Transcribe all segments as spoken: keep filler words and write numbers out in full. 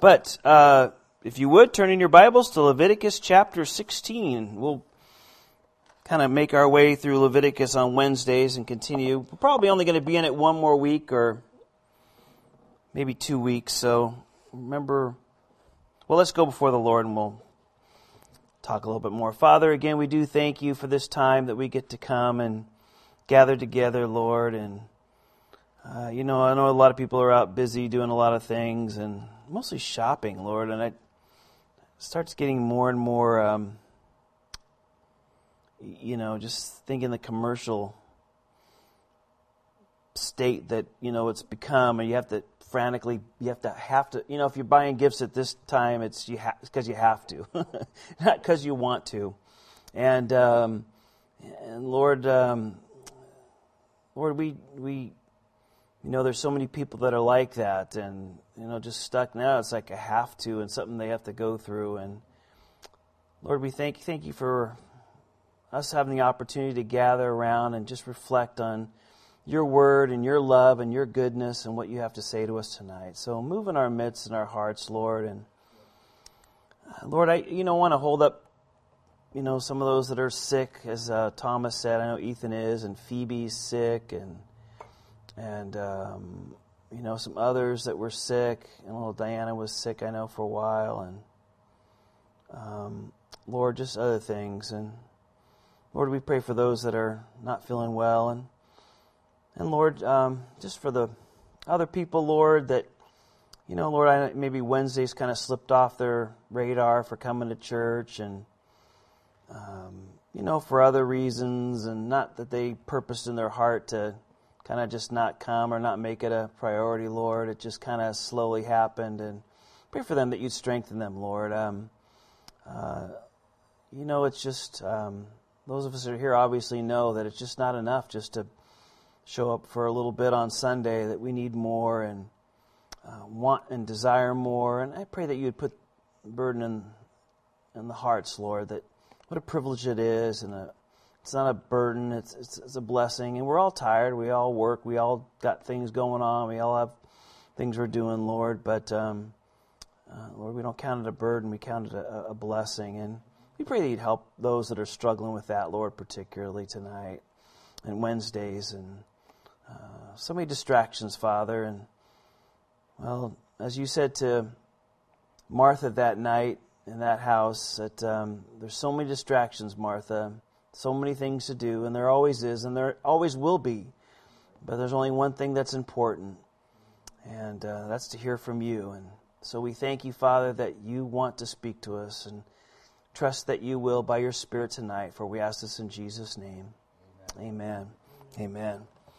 But uh, if you would, turn in your Bibles to Leviticus chapter sixteen. We'll kind of make our way through Leviticus on Wednesdays and continue. We're probably only going to be in it one more week or maybe two weeks. So remember, well, let's go before the Lord and we'll talk a little bit more. Father, again, we do thank you for this time that we get to come and gather together, Lord. And, uh, you know, I know a lot of people are out busy doing a lot of things and mostly shopping, Lord. And it starts getting more and more, um, you know, just thinking the commercial state that, you know, it's become, and you have to frantically, you have to have to, you know, if you're buying gifts at this time, it's you ha- because you have to, not because you want to. And um, and Lord, um, Lord, we we, you know, there's so many people that are like that, and you know, just stuck now. It's like a have to, and something they have to go through. And Lord, we thank thank you for us having the opportunity to gather around and just reflect on your word and your love and your goodness and what you have to say to us tonight. So move in our midst and our hearts, Lord. And uh, Lord, I you know want to hold up, you know, some of those that are sick, as uh, Thomas said. I know Ethan is, and Phoebe's sick, and and um, you know some others that were sick. And little Diana was sick, I know, for a while, and um, Lord, just other things. And Lord, we pray for those that are not feeling well, and And Lord, um, just for the other people, Lord, that, you know, Lord, I, maybe Wednesdays kind of slipped off their radar for coming to church, and, um, you know, for other reasons, and not that they purposed in their heart to kind of just not come or not make it a priority, Lord. It just kind of slowly happened, and pray for them that you'd strengthen them, Lord. Um, uh, you know, it's just, um, those of us that are here obviously know that it's just not enough just to show up for a little bit on Sunday, that we need more and uh, want and desire more. And I pray that you would put burden in, in the hearts, Lord, that what a privilege it is. And a, it's not a burden, it's, it's it's a blessing. And we're all tired, we all work, we all got things going on, we all have things we're doing, Lord. But, um, uh, Lord, we don't count it a burden, we count it a, a blessing. And we pray that you'd help those that are struggling with that, Lord, particularly tonight and Wednesdays, and Uh, so many distractions, Father. And, well, as you said to Martha that night in that house, that um, there's so many distractions, Martha, so many things to do, and there always is, and there always will be. But there's only one thing that's important, and uh, that's to hear from you. And so we thank you, Father, that you want to speak to us, and trust that you will by your Spirit tonight, for we ask this in Jesus' name. Amen. Amen. Amen.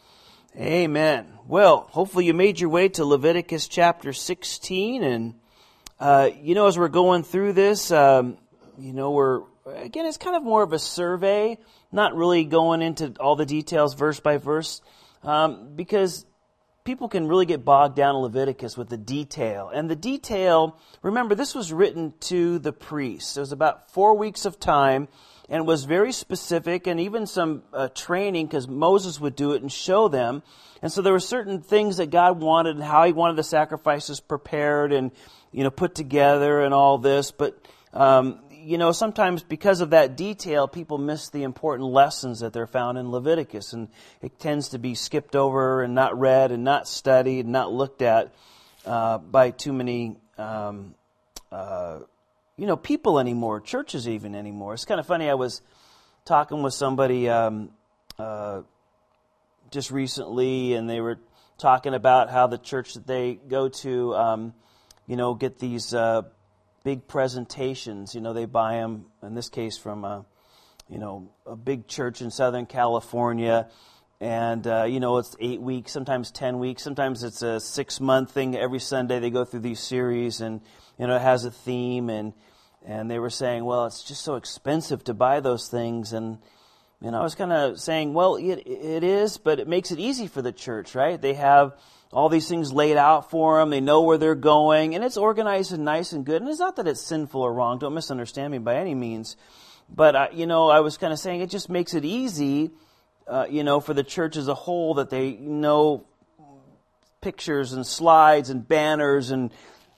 Amen. Well, hopefully you made your way to Leviticus chapter sixteen, and uh, you know, as we're going through this, um, you know, we're again, it's kind of more of a survey, not really going into all the details verse by verse, um, because people can really get bogged down in Leviticus with the detail. And the detail, remember, this was written to the priests. It was about four weeks of time. And it was very specific, and even some uh, training, because Moses would do it and show them. And so there were certain things that God wanted, and how He wanted the sacrifices prepared and, you know, put together and all this. But, um, you know, sometimes because of that detail, people miss the important lessons that they're found in Leviticus. And it tends to be skipped over and not read and not studied and not looked at uh, by too many um uh you know, people anymore, churches even anymore. It's kind of funny, I was talking with somebody um, uh, just recently, and they were talking about how the church that they go to, um, you know, get these uh, big presentations. You know, they buy them, in this case, from a, you know, a big church in Southern California. And, uh, you know, it's eight weeks, sometimes ten weeks, sometimes it's a six-month thing. Every Sunday they go through these series, and, you know, it has a theme. And, and they were saying, well, it's just so expensive to buy those things. And, and I was kind of saying, well, it, it is, but it makes it easy for the church, right? They have all these things laid out for them. They know where they're going. And it's organized and nice and good. And it's not that it's sinful or wrong. Don't misunderstand me by any means. But, I, you know, I was kind of saying it just makes it easy, uh, you know, for the church as a whole, that they know pictures and slides and banners and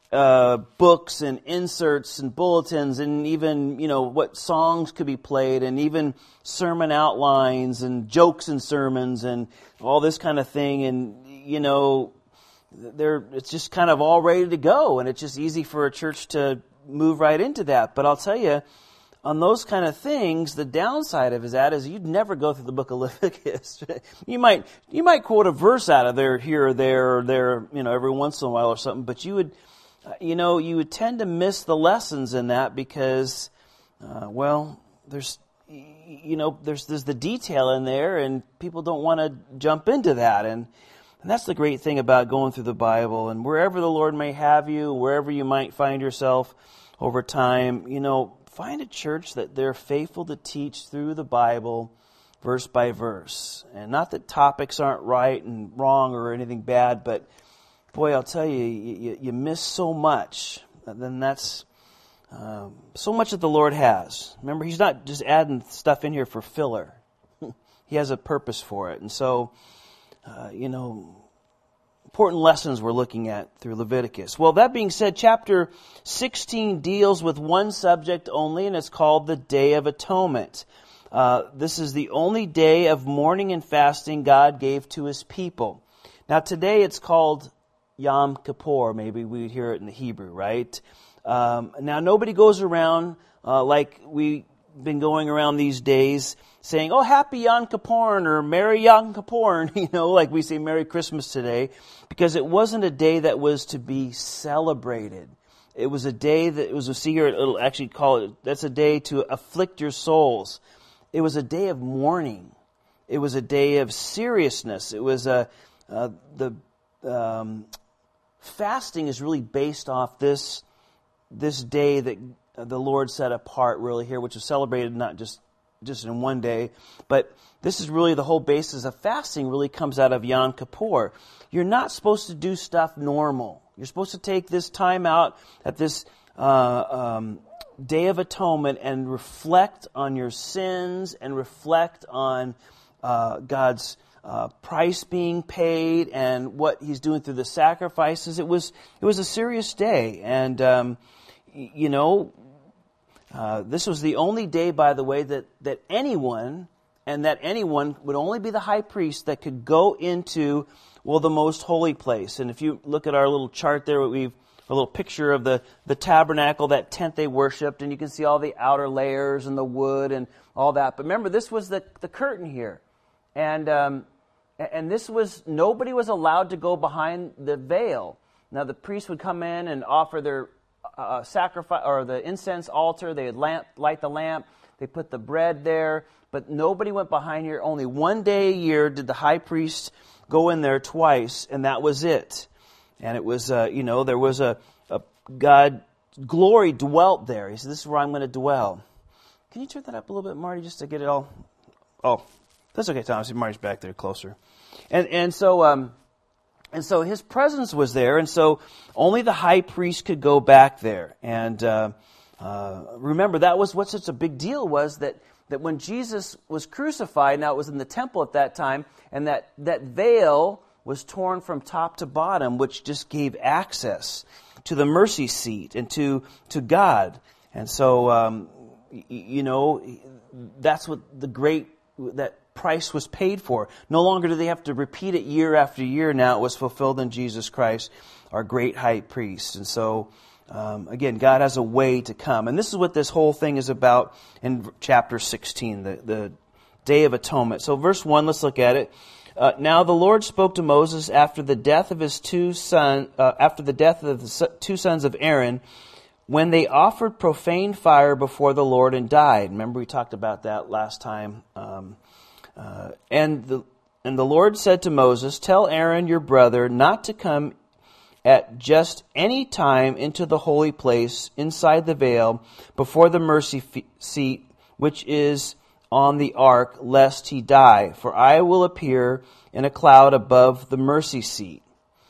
uh, books and inserts and bulletins, and even, you know, what songs could be played, and even sermon outlines and jokes and sermons and all this kind of thing. And, you know, they're, it's just kind of all ready to go, and it's just easy for a church to move right into that. But I'll tell you, on those kind of things, the downside of that is you'd never go through the book of Leviticus. you might you might quote a verse out of there here or there or there, you know, every once in a while or something, but you would, you know, you would tend to miss the lessons in that because, uh, well, there's, you know, there's there's the detail in there, and people don't want to jump into that, and and that's the great thing about going through the Bible. And wherever the Lord may have you, wherever you might find yourself over time, you know, find a church that they're faithful to teach through the Bible, verse by verse. And not that topics aren't right and wrong or anything bad, but boy, I'll tell you, you, you miss so much. And then that's um, so much that the Lord has. Remember, He's not just adding stuff in here for filler. He has a purpose for it. And so, uh, you know, important lessons we're looking at through Leviticus. Well, that being said, chapter sixteen deals with one subject only, and it's called the Day of Atonement. Uh, this is the only day of mourning and fasting God gave to His people. Now, today it's called Yom Kippur. Maybe we'd hear it in the Hebrew, right? Um, now, nobody goes around uh, like we've been going around these days saying, oh, happy Yom Kippur, or Merry Yom Kippur, you know, like we say Merry Christmas today, because it wasn't a day that was to be celebrated. It was a day that, it was a, see here, it'll actually call it, that's a day to afflict your souls. It was a day of mourning. It was a day of seriousness. It was a, uh, the, um, fasting is really based off this, this day that the Lord set apart really here, which was celebrated not just just in one day, but this is really the whole basis of fasting really comes out of Yom Kippur. You're not supposed to do stuff normal. You're supposed to take this time out at this uh, um, Day of Atonement and reflect on your sins and reflect on uh, God's uh, price being paid and what He's doing through the sacrifices. It was it was a serious day, and um, you know. Uh, this was the only day, by the way, that, that anyone, and that anyone would only be the high priest that could go into, well, the most holy place. And if you look at our little chart there, we've a little picture of the, the tabernacle, that tent they worshipped, and you can see all the outer layers and the wood and all that. But remember, this was the, the curtain here. And, um, and this was, nobody was allowed to go behind the veil. Now, the priest would come in and offer their Uh, sacrifice or the incense altar. They would lamp, light the lamp. They put the bread there, but nobody went behind here. Only one day a year did the high priest go in there twice, and that was it. And it was, uh, you know, there was a, a God glory dwelt there. He said, "This is where I'm going to dwell." Can you turn that up a little bit, Marty, just to get it all? Oh, that's okay, Thomas. Marty's back there closer, and and so. Um, And so His presence was there, and so only the high priest could go back there. And uh, uh, remember, that was what such a big deal was, that, that when Jesus was crucified, now it was in the temple at that time, and that, that veil was torn from top to bottom, which just gave access to the mercy seat and to, to God. And so, um, you know, that's what the great, that price was paid for. No longer do they have to repeat it year after year. Now it was fulfilled in Jesus Christ, our great high priest. And so, um, again, God has a way to come. And this is what this whole thing is about in chapter sixteen, the, the Day of Atonement. So verse one, let's look at it. Uh, now the Lord spoke to Moses after the death of his two sons, uh, after the death of the two sons of Aaron, when they offered profane fire before the Lord and died. Remember, we talked about that last time. Um, Uh, and the and the Lord said to Moses, "Tell Aaron your brother not to come at just any time into the holy place inside the veil before the mercy seat, which is on the ark, lest he die. For I will appear in a cloud above the mercy seat."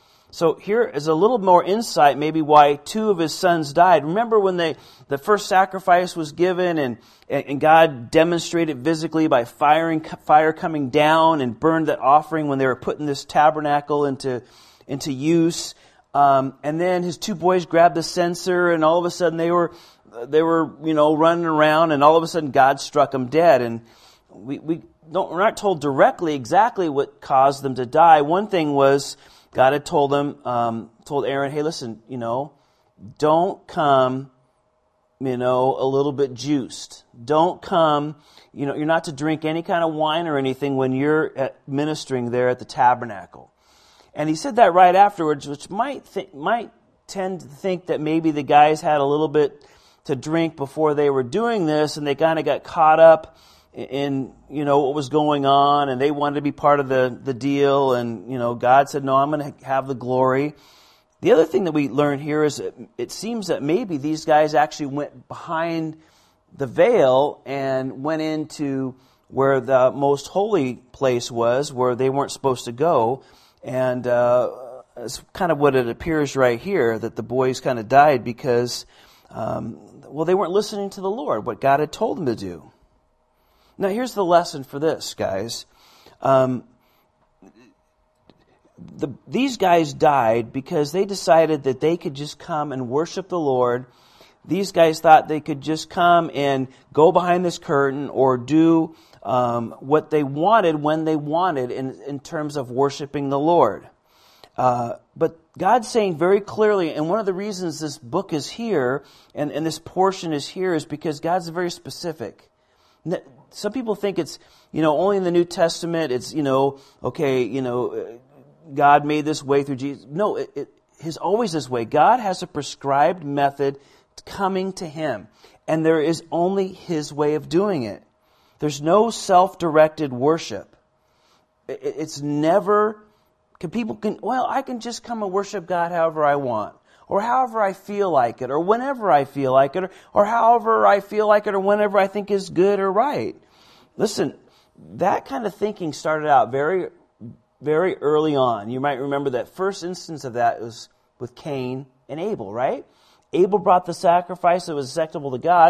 So here is a little more insight, maybe why two of his sons died. Remember when they, the first sacrifice was given, and, and God demonstrated physically by firing, fire coming down and burned that offering when they were putting this tabernacle into, into use. Um, and then his two boys grabbed the censer, and all of a sudden they were, they were, you know, running around, and all of a sudden God struck them dead. And we, we don't, we're not told directly exactly what caused them to die. One thing was God had told them, um, told Aaron, hey, listen, you know, don't come, you know, a little bit juiced. Don't come, you know, you're not to drink any kind of wine or anything when you're at ministering there at the tabernacle. And he said that right afterwards, which might th- might tend to think that maybe the guys had a little bit to drink before they were doing this, and they kind of got caught up in, you know, what was going on, and they wanted to be part of the, the deal, and, you know, God said, no, I'm going to have the glory. The other thing that we learn here is that it seems that maybe these guys actually went behind the veil and went into where the most holy place was, where they weren't supposed to go. And uh, it's kind of what it appears right here, that the boys kind of died because, um, well, they weren't listening to the Lord, what God had told them to do. Now, here's the lesson for this, guys. Um, the, these guys died because they decided that they could just come and worship the Lord. These guys thought they could just come and go behind this curtain or do um, what they wanted when they wanted in, in terms of worshiping the Lord. Uh, but God's saying very clearly, and one of the reasons this book is here and, and this portion is here is because God's very specific. Some people think it's, you know, only in the New Testament, it's, you know, okay, you know, God made this way through Jesus. No, it, it is always this way. God has a prescribed method coming to Him, and there is only His way of doing it. There's no self-directed worship. It, it's never, can people can, well, I can just come and worship God however I want, or however I feel like it, or whenever I feel like it, or, or however I feel like it, or whenever I think is good or right. Listen, that kind of thinking started out very, very early on. You might remember that first instance of that was with Cain and Abel, right? Abel brought the sacrifice that was acceptable to God.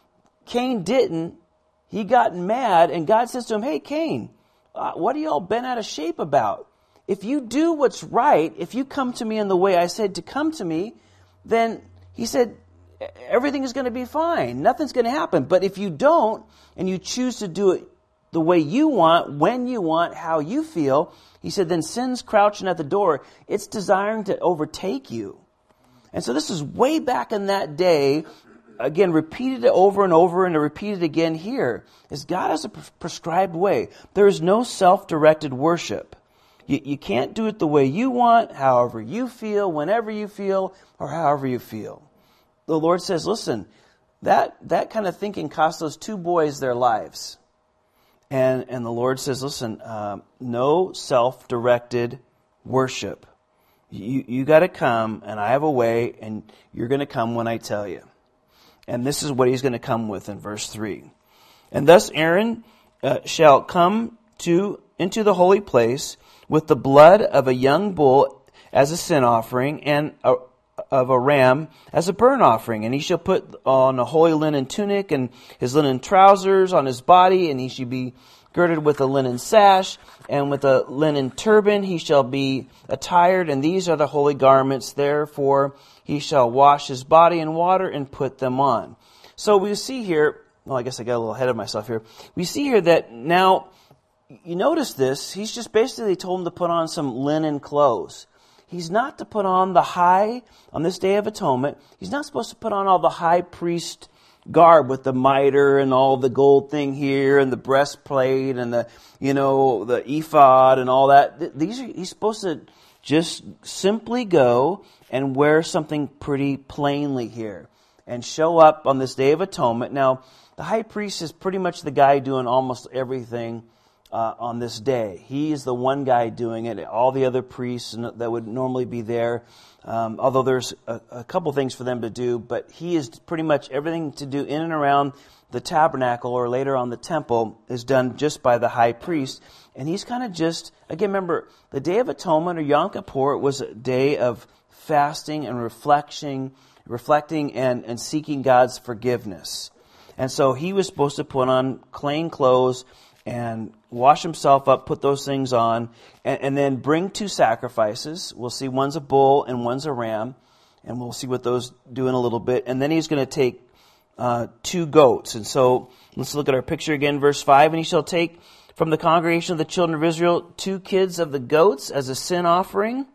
Cain didn't. He got mad, and God says to him, hey, Cain, uh, what are you all bent out of shape about? If you do what's right, if you come to me in the way I said to come to me, then he said, everything is going to be fine. Nothing's going to happen. But if you don't, and you choose to do it the way you want, when you want, how you feel, he said, then sin's crouching at the door. It's desiring to overtake you. And so this is way back in that day, again, repeated it over and over and repeated again here, is God has a prescribed way. There is no self-directed worship. You, you can't do it the way you want, however you feel, whenever you feel, or however you feel. The Lord says, listen, that, that kind of thinking cost those two boys their lives. And, and the Lord says, listen, uh, no self-directed worship. You, you got to come, and I have a way, and you're going to come when I tell you. And this is what he's going to come with in verse three. And thus Aaron uh, shall come to into the holy place with the blood of a young bull as a sin offering, and a, of a ram as a burnt offering. And he shall put on a holy linen tunic and his linen trousers on his body, and he shall be girded with a linen sash, and with a linen turban he shall be attired, and these are the holy garments. Therefore he shall wash his body in water and put them on. So we see here, well, I guess I got a little ahead of myself here. We see here that now, you notice this, he's just basically told him to put on some linen clothes. He's not to put on the high, on this Day of Atonement, he's not supposed to put on all the high priest garb with the mitre and all the gold thing here and the breastplate and the, you know, the ephod and all that. These are, he's supposed to just simply go and wear something pretty plainly here and show up on this Day of Atonement. Now, the high priest is pretty much the guy doing almost everything uh, on this day. He is the one guy doing it. All the other priests that would normally be there, Um, although there's a, a couple things for them to do, but he is pretty much everything to do in and around the tabernacle or later on the temple is done just by the high priest. And he's kind of just, again, remember, the Day of Atonement or Yom Kippur was a day of fasting and reflecting, reflecting and, and seeking God's forgiveness. And so he was supposed to put on clean clothes and wash himself up, put those things on, and, and then bring two sacrifices. We'll see one's a bull and one's a ram, and we'll see what those do in a little bit. And then he's going to take uh, two goats. And so let's look at our picture again, verse five. And he shall take from the congregation of the children of Israel two kids of the goats as a sin offering,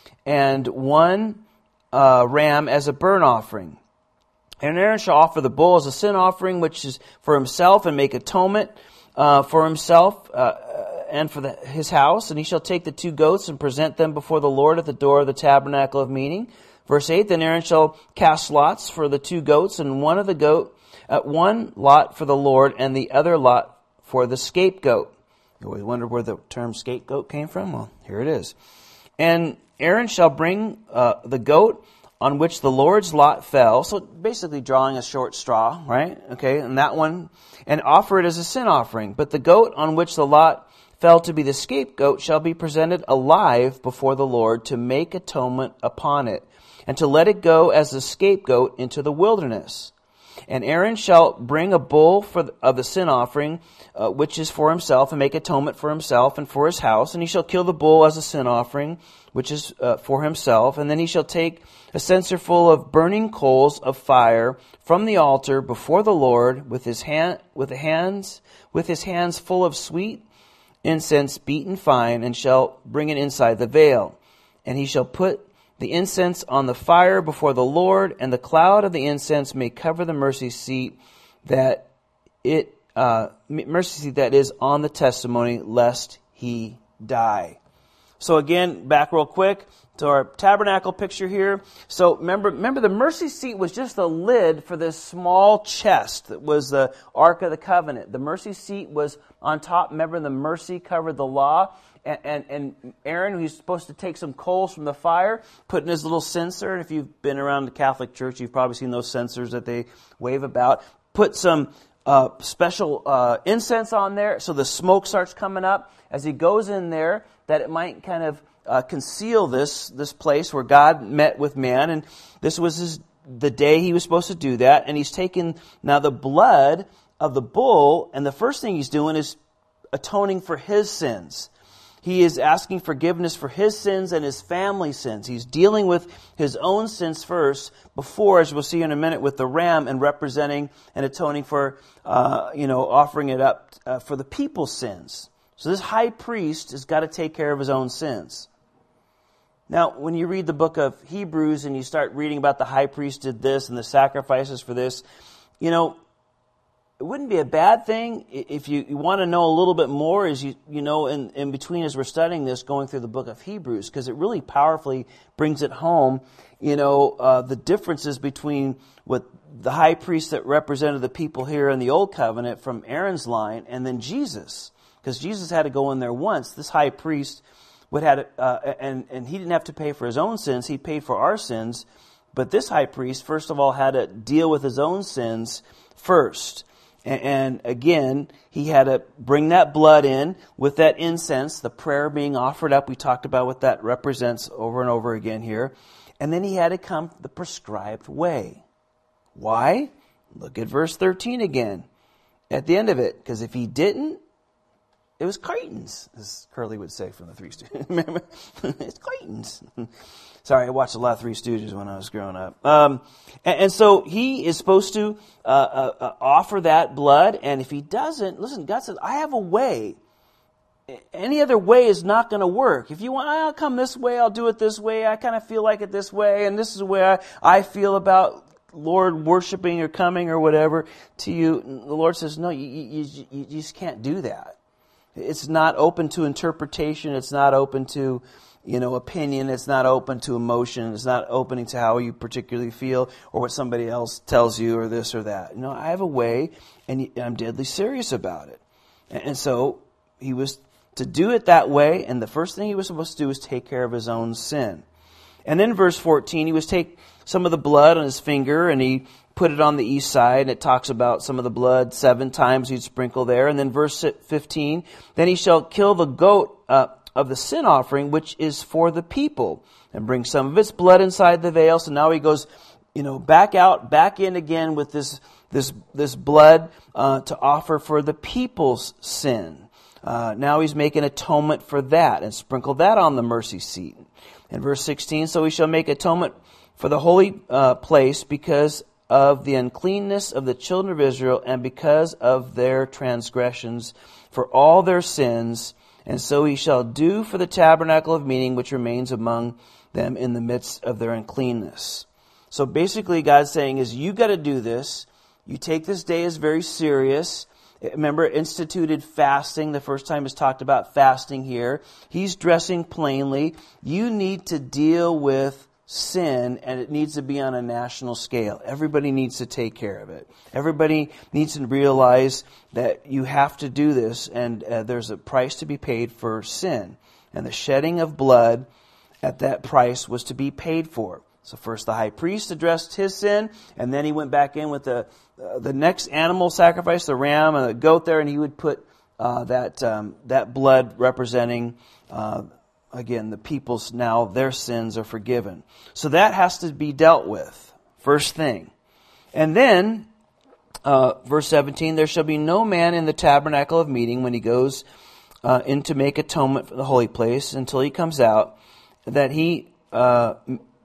and one uh, ram as a burnt offering. And Aaron shall offer the bull as a sin offering, which is for himself, and make atonement uh, for himself uh, and for the, his house. And he shall take the two goats and present them before the Lord at the door of the tabernacle of meeting. Verse eight, then Aaron shall cast lots for the two goats, and one of the goat, uh, one lot for the Lord, and the other lot for the scapegoat. You always wonder where the term scapegoat came from? Well, here it is. And Aaron shall bring uh, the goat on which the Lord's lot fell. So basically drawing a short straw, right? Okay, and that one, and offer it as a sin offering. But the goat on which the lot fell to be the scapegoat shall be presented alive before the Lord to make atonement upon it, and to let it go as the scapegoat into the wilderness. And Aaron shall bring a bull for the, of the sin offering, uh, which is for himself, and make atonement for himself and for his house. And he shall kill the bull as a sin offering, which is uh, for himself. And then he shall take a censer full of burning coals of fire from the altar before the Lord, with his hand, with the hands, with his hands full of sweet incense beaten fine, and shall bring it inside the veil. And he shall put the incense on the fire before the Lord, and the cloud of the incense may cover the mercy seat that it uh, mercy seat that is on the testimony, lest he die. So again, back real quick to our tabernacle picture here. So remember, remember the mercy seat was just a lid for this small chest that was the Ark of the Covenant. The mercy seat was on top. Remember, the mercy covered the law. And, and, and Aaron, who's supposed to take some coals from the fire, put in his little censer. If you've been around the Catholic Church, you've probably seen those censers that they wave about. Put some uh, special uh, incense on there so the smoke starts coming up as he goes in there, that it might kind of uh, conceal this this place where God met with man. And this was his, the day he was supposed to do that. And he's taken now the blood of the bull, and the first thing he's doing is atoning for his sins. He is asking forgiveness for his sins and his family's sins. He's dealing with his own sins first before, as we'll see in a minute, with the ram and representing and atoning for, uh, you know, offering it up uh, for the people's sins. So this high priest has got to take care of his own sins. Now, when you read the book of Hebrews and you start reading about the high priest did this and the sacrifices for this, you know, it wouldn't be a bad thing if you, you want to know a little bit more, as you you know in, in between as we're studying this, going through the book of Hebrews, because it really powerfully brings it home, you know, uh, the differences between what the high priest that represented the people here in the Old Covenant from Aaron's line, and then Jesus, because Jesus had to go in there once. This high priest would have, uh, and and he didn't have to pay for his own sins; he paid for our sins. But this high priest, first of all, had to deal with his own sins first. And again, he had to bring that blood in with that incense, the prayer being offered up. We talked about what that represents over and over again here. And then he had to come the prescribed way. Why? Look at verse thirteen again at the end of it. Because if he didn't, it was Cretans, as Curly would say from the Three Stooges. Remember? It's Cretans. Sorry, I watched a lot of Three Stooges when I was growing up. Um, and, and so he is supposed to uh, uh, uh, offer that blood, and if he doesn't, listen, God says, I have a way. Any other way is not going to work. If you want, I'll come this way, I'll do it this way, I kind of feel like it this way, and this is the way I, I feel about Lord worshiping or coming or whatever to you. The Lord says, no, you, you, you, you just can't do that. It's not open to interpretation, it's not open to you know, opinion. It's not open to emotion. It's not opening to how you particularly feel or what somebody else tells you or this or that. You know, I have a way, and I'm deadly serious about it. And so he was to do it that way, and the first thing he was supposed to do was take care of his own sin. And then verse fourteen, he was take some of the blood on his finger, and he put it on the east side. It talks about some of the blood seven times he'd sprinkle there. And then verse fifteen, then he shall kill the goat uh, of the sin offering, which is for the people, and bring some of its blood inside the veil. So now he goes you know, back out, back in again with this this this blood uh, to offer for the people's sin. Uh, now he's making atonement for that and sprinkle that on the mercy seat. In verse sixteen, so he shall make atonement for the holy uh, place because of the uncleanness of the children of Israel and because of their transgressions for all their sins. And so he shall do for the tabernacle of meeting which remains among them in the midst of their uncleanness. So basically God's saying is, you got to do this. You take this day as very serious. Remember, instituted fasting. The first time is talked about fasting here. He's dressing plainly. You need to deal with sin, and it needs to be on a national scale. Everybody needs to take care of it. Everybody needs to realize that you have to do this, and uh, there's a price to be paid for sin. And the shedding of blood at that price was to be paid for. So first the high priest addressed his sin, and then he went back in with the uh, the next animal sacrifice, the ram and the goat there, and he would put uh, that um, that blood representing, uh, again, the people's, now their sins are forgiven. So that has to be dealt with, first thing. And then, uh, verse seventeen, there shall be no man in the tabernacle of meeting when he goes uh, in to make atonement for the holy place until he comes out, that he uh,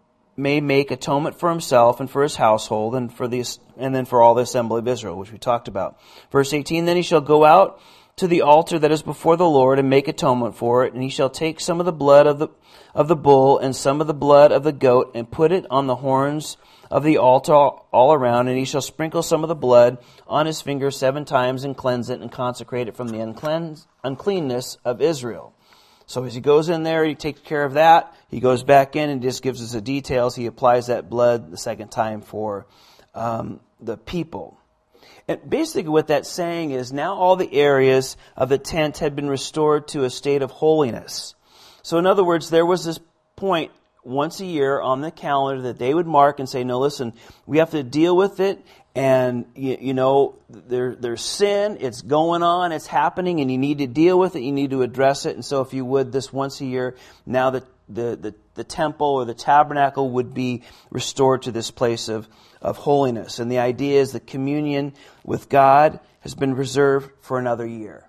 may make atonement for himself and for his household and for the and then for all the assembly of Israel, which we talked about. Verse eighteen, then he shall go out to the altar that is before the Lord and make atonement for it, and he shall take some of the blood of the of the bull and some of the blood of the goat and put it on the horns of the altar all around, and he shall sprinkle some of the blood on his finger seven times and cleanse it and consecrate it from the unclean, uncleanness of Israel. So as he goes in there, he takes care of that. He goes back in and just gives us the details. He applies that blood the second time for um, the people. And basically what that's saying is now all the areas of the tent had been restored to a state of holiness. So in other words, there was this point once a year on the calendar that they would mark and say, no, listen, we have to deal with it. And, you, you know, there, there's sin, it's going on, it's happening, and you need to deal with it, you need to address it. And so if you would, this once a year, now the, the, the, the temple or the tabernacle would be restored to this place of, of holiness. And the idea is that communion with God has been reserved for another year.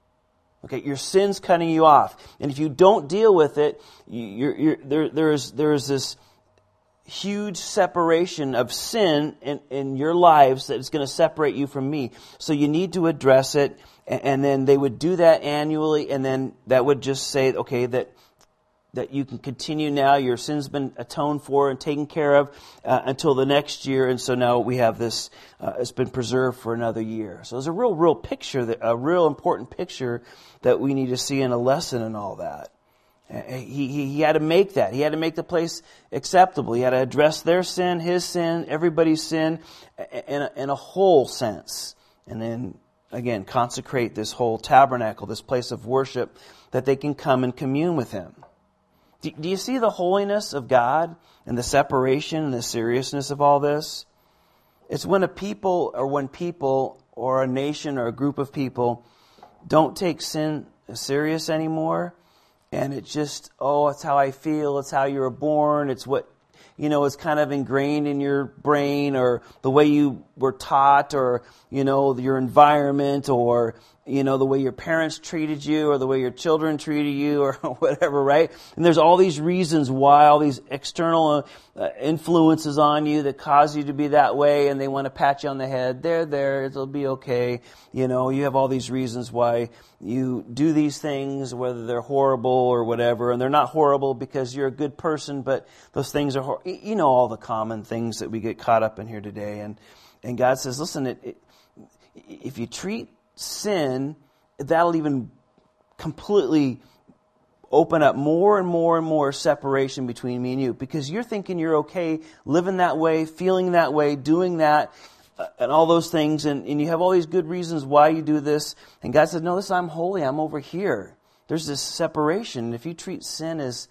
Okay, your sin's cutting you off. And if you don't deal with it, you're, you're, there, there's, there's this huge separation of sin in, in your lives that is going to separate you from me. So you need to address it, and, and then they would do that annually, and then that would just say, okay, that that you can continue now, your sin's been atoned for and taken care of uh, until the next year, and so now we have this, uh, it's been preserved for another year. So there's a real, real picture, that, a real important picture that we need to see in a lesson and all that. He, he, he had to make that. He had to make the place acceptable. He had to address their sin, his sin, everybody's sin in a, in a whole sense. And then, again, consecrate this whole tabernacle, this place of worship, that they can come and commune with him. Do, do you see the holiness of God and the separation and the seriousness of all this? It's when a people or when people or a nation or a group of people don't take sin serious anymore. And it's just, oh, it's how I feel, it's how you were born, it's what, you know, it's kind of ingrained in your brain, or the way you were taught, or, you know, your environment, or, you know, the way your parents treated you, or the way your children treated you, or whatever, right? And there's all these reasons why, all these external uh, influences on you that cause you to be that way, and they want to pat you on the head. There, there, it'll be okay. You know, you have all these reasons why you do these things, whether they're horrible or whatever, and they're not horrible because you're a good person, but those things are, hor- you know, all the common things that we get caught up in here today. And and God says, listen, it, it, if you treat sin, that'll even completely open up more and more and more separation between me and you, because you're thinking you're okay living that way, feeling that way, doing that, uh, and all those things, and, and you have all these good reasons why you do this. And God says, no, listen, I'm holy, I'm over here. There's this separation. If you treat sin as,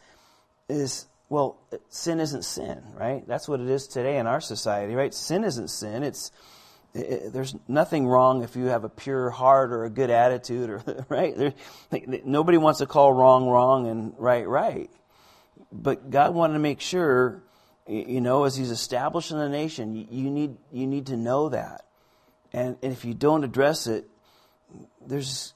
as well, sin isn't sin, right? That's what it is today in our society, right? Sin isn't sin. It's It, it, there's nothing wrong if you have a pure heart or a good attitude, or right. There, like, nobody wants to call wrong wrong and right right. But God wanted to make sure you know, as he's establishing the nation, you, you need you need to know that. And, and if you don't address it, there's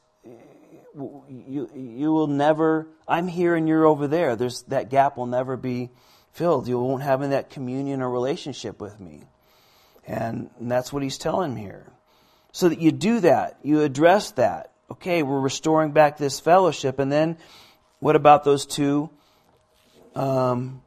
you you will never. I'm here and you're over there. There's that gap will never be filled. You won't have that communion or relationship with me, and, and that's what he's telling me here. So that you do that, you address that. Okay, we're restoring back this fellowship, and then what about those two um,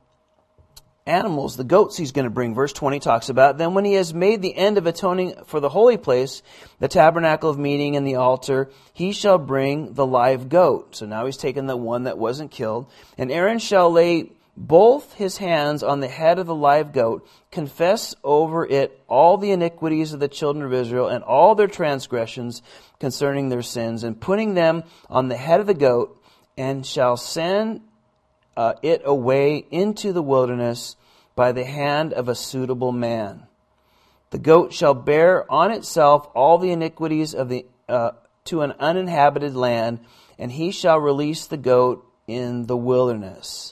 animals, the goats he's going to bring? Verse twenty talks about, then when he has made the end of atoning for the holy place, the tabernacle of meeting and the altar, he shall bring the live goat. So now he's taken the one that wasn't killed. And Aaron shall lay both his hands on the head of the live goat, confess over it all the iniquities of the children of Israel and all their transgressions concerning their sins, and putting them on the head of the goat, and shall send uh, it away into the wilderness by the hand of a suitable man. The goat shall bear on itself all the iniquities of the uh, to an uninhabited land, and he shall release the goat in the wilderness.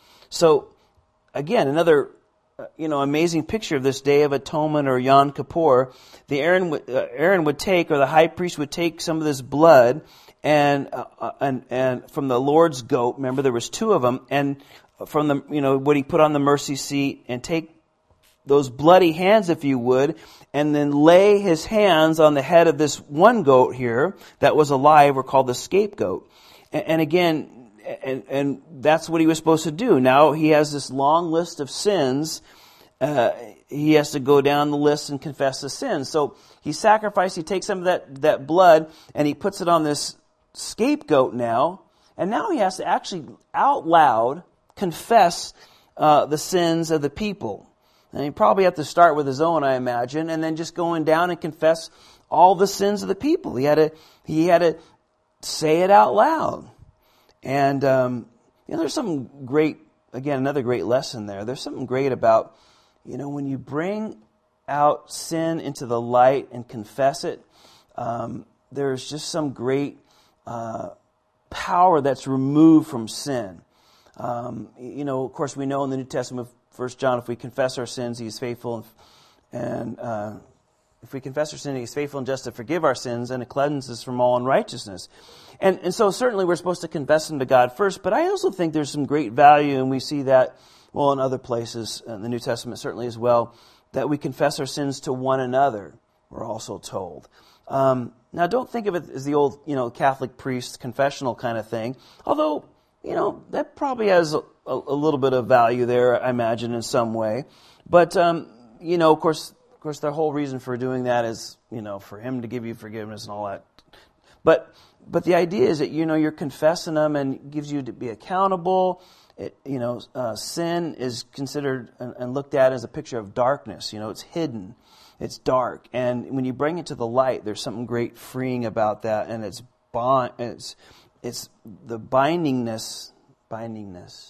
So, again, another uh, you know amazing picture of this Day of Atonement or Yom Kippur. The Aaron would, uh, Aaron would take, or the high priest would take some of this blood and uh, and and from the Lord's goat. Remember, there was two of them, and from the you know what he put on the mercy seat, and take those bloody hands, if you would, and then lay his hands on the head of this one goat here that was alive, or called the scapegoat. And, and again. And, and that's what he was supposed to do. Now he has this long list of sins. Uh, he has to go down the list and confess the sins. So he sacrificed, he takes some of that, that blood and he puts it on this scapegoat now. And now he has to actually out loud confess uh, the sins of the people. And he probably have to start with his own, I imagine, and then just going down and confess all the sins of the people. He had to, he had to say it out loud. And, um, you know, there's something great, again, another great lesson there. There's something great about, you know, when you bring out sin into the light and confess it, um, there's just some great uh, power that's removed from sin. Um, you know, of course, we know in the New Testament, First John, if we confess our sins, he is faithful and, and uh, if we confess our sin, he is faithful and just to forgive our sins and to cleanse us from all unrighteousness. And, and so certainly we're supposed to confess them to God first, but I also think there's some great value, and we see that, well, in other places, in the New Testament certainly as well, that we confess our sins to one another, we're also told. Um, now, don't think of it as the old, you know, Catholic priest confessional kind of thing, although, you know, that probably has a, a, a little bit of value there, I imagine, in some way. But, um, you know, of course, of course, the whole reason for doing that is, you know, for him to give you forgiveness and all that. But But the idea is that, you know, you're confessing them and gives you to be accountable. It, you know, uh, sin is considered and, and looked at as a picture of darkness. You know, it's hidden. It's dark. And when you bring it to the light, there's something great freeing about that. And it's bond, it's, it's the bindingness, bindingness,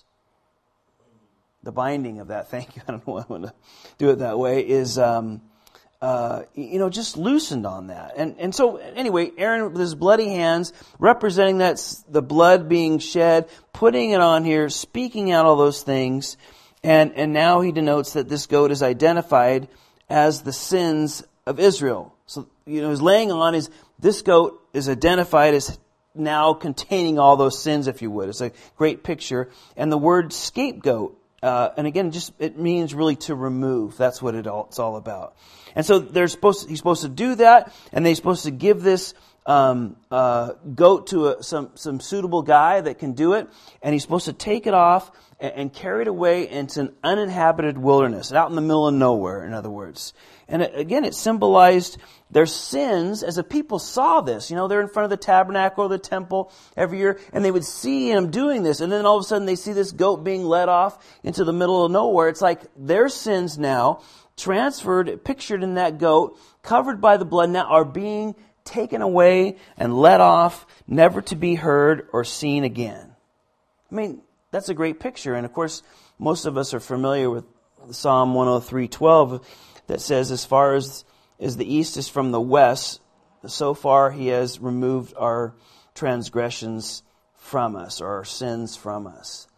the binding of that. Thank you. I don't know why I want to do it that way is, um, Uh, you know, just loosened on that. And and so, anyway, Aaron with his bloody hands, representing that the blood being shed, putting it on here, speaking out all those things. And, and now he denotes that this goat is identified as the sins of Israel. So, you know, his laying on is, this goat is identified as now containing all those sins, if you would. It's a great picture. And the word scapegoat, uh, and again, just it means really to remove. That's what it all, it's all about. And so they're supposed to, he's supposed to do that, and they're supposed to give this um, uh, goat to a, some some suitable guy that can do it, and he's supposed to take it off and, and carry it away into an uninhabited wilderness, out in the middle of nowhere, in other words. And it, again, it symbolized their sins as the people saw this. You know, they're in front of the tabernacle or the temple every year, and they would see him doing this, and then all of a sudden they see this goat being led off into the middle of nowhere. It's like their sins now, transferred, pictured in that goat, covered by the blood, now are being taken away and let off, never to be heard or seen again. I mean, that's a great picture. And of course, most of us are familiar with Psalm one oh three twelve that says, as far as, as the east is from the west, so far he has removed our transgressions from us, or our sins from us.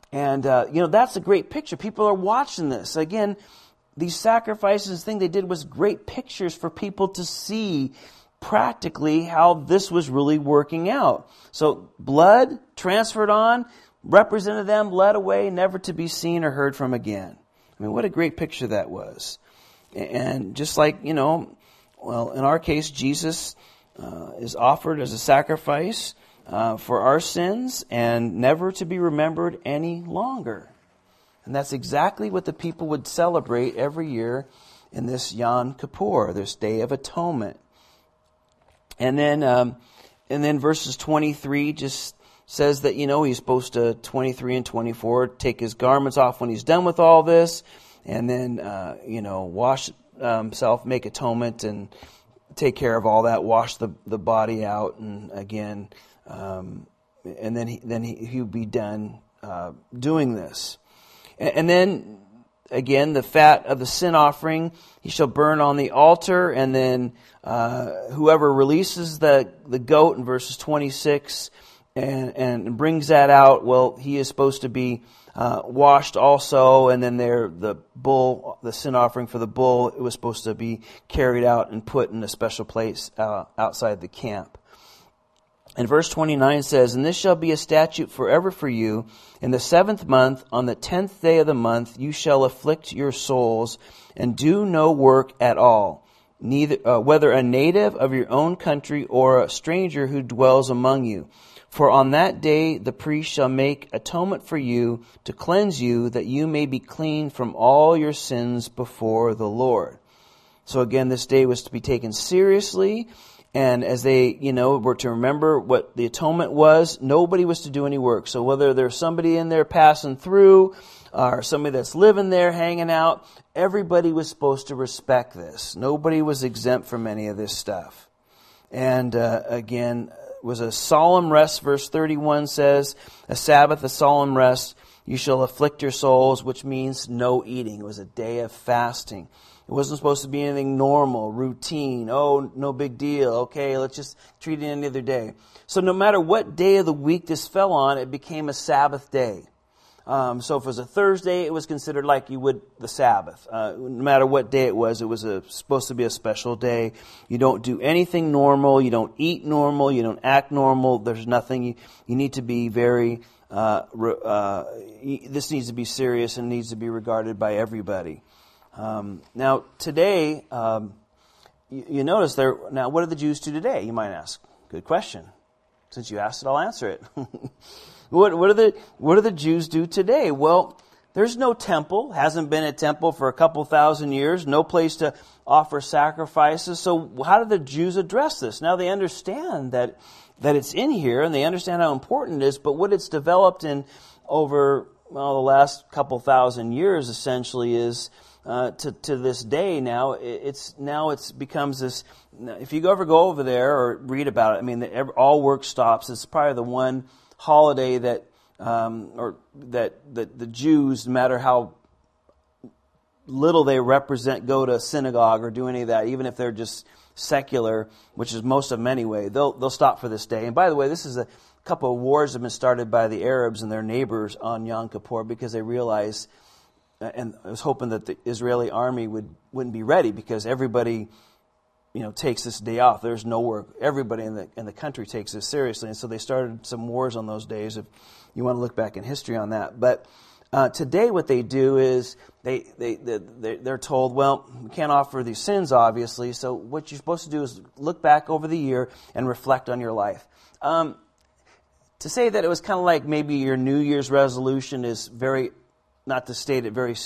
And, uh, you know, that's a great picture. People are watching this. Again, these sacrifices, thing they did was great pictures for people to see practically how this was really working out. So blood transferred on, represented them, led away, never to be seen or heard from again. I mean, what a great picture that was. And just like, you know, well, in our case, Jesus uh, is offered as a sacrifice uh, for our sins and never to be remembered any longer. And that's exactly what the people would celebrate every year in this Yom Kippur, this Day of Atonement. And then, um, and then verses twenty-three just says that, you know, he's supposed to, twenty-three and twenty-four, take his garments off when he's done with all this, and then, uh, you know, wash um, himself, make atonement, and take care of all that, wash the, the body out, and again, um, and then he, then he, he would be done uh, doing this. And, and then, again, the fat of the sin offering he shall burn on the altar, and then uh, whoever releases the, the goat in verses twenty-six and, and brings that out, well, he is supposed to be uh, washed also, and then there the bull, the sin offering for the bull, it was supposed to be carried out and put in a special place uh, outside the camp. And verse twenty-nine says, "And this shall be a statute forever for you. In the seventh month, on the tenth day of the month, you shall afflict your souls, and do no work at all, neither uh, whether a native of your own country or a stranger who dwells among you. For on that day the priest shall make atonement for you to cleanse you, that you may be clean from all your sins before the Lord." So again, this day was to be taken seriously. And as they, you know, were to remember what the atonement was, nobody was to do any work. So whether there's somebody in there passing through or somebody that's living there hanging out, everybody was supposed to respect this. Nobody was exempt from any of this stuff. And uh, again, it was a solemn rest. Verse thirty-one says, "A Sabbath, a solemn rest, you shall afflict your souls," which means no eating. It was a day of fasting. It wasn't supposed to be anything normal, routine. Oh, no big deal. Okay, let's just treat it any other day. So no matter what day of the week this fell on, it became a Sabbath day. Um, so if it was a Thursday, it was considered like you would the Sabbath. Uh, no matter what day it was, it was a, supposed to be a special day. You don't do anything normal. You don't eat normal. You don't act normal. There's nothing. You, you need to be very, uh, uh, this needs to be serious and needs to be regarded by everybody. Um, now, today, um, you, you notice there, now what do the Jews do today, you might ask? Good question. Since you asked it, I'll answer it. what, what, are the, what do the Jews do today? Well, there's no temple, hasn't been a temple for a couple thousand years, no place to offer sacrifices. So how do the Jews address this? Now they understand that, that it's in here and they understand how important it is, but what it's developed in over, well, the last couple thousand years essentially is Uh, to to this day now, it's now it's becomes this. If you ever go over there or read about it, I mean, the, all work stops. It's probably the one holiday that um, or that that the Jews, no matter how little they represent, go to synagogue or do any of that, even if they're just secular, which is most of them anyway. They'll they'll stop for this day. And by the way, this is a couple of wars that have been started by the Arabs and their neighbors on Yom Kippur because they realize. And I was hoping that the Israeli army would, wouldn't be ready because everybody, you know, takes this day off. There's no work. Everybody in the in the country takes this seriously. And so they started some wars on those days, if you want to look back in history on that. But uh, today what they do is they, they, they, they're told, well, we can't offer these sins, obviously. So what you're supposed to do is look back over the year and reflect on your life. Um, to say that it was kind of like maybe your New Year's resolution is very... not to state it very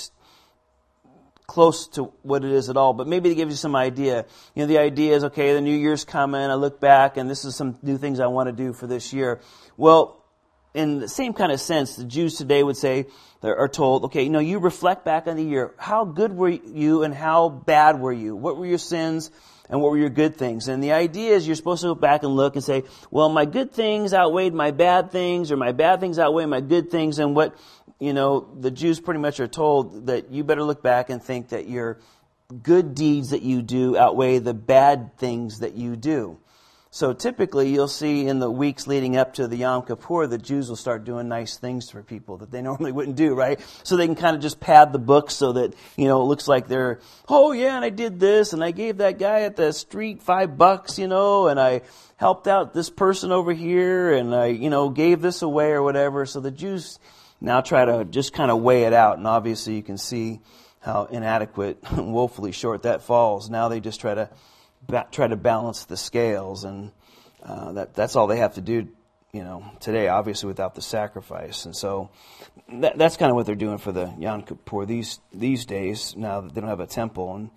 close to what it is at all, but maybe to give you some idea. You know, the idea is, okay, the New Year's coming, I look back, and this is some new things I want to do for this year. Well, in the same kind of sense, the Jews today would say, they are told, okay, you know, you reflect back on the year. How good were you and how bad were you? What were your sins and what were your good things? And the idea is you're supposed to go back and look and say, well, my good things outweighed my bad things, or my bad things outweigh my good things, and what... You know, the Jews pretty much are told that you better look back and think that your good deeds that you do outweigh the bad things that you do. So typically you'll see in the weeks leading up to the Yom Kippur, the Jews will start doing nice things for people that they normally wouldn't do, right? So they can kind of just pad the book so that, you know, it looks like they're, oh yeah, and I did this, and I gave that guy at the street five bucks, you know, and I helped out this person over here, and I, you know, gave this away or whatever. So the Jews now try to just kind of weigh it out, and obviously you can see how inadequate, woefully short that falls. Now they just try to ba- try to balance the scales, and uh, that that's all they have to do, you know, today, obviously without the sacrifice. And so that, that's kind of what they're doing for the Yom Kippur these these days, now that they don't have a temple. And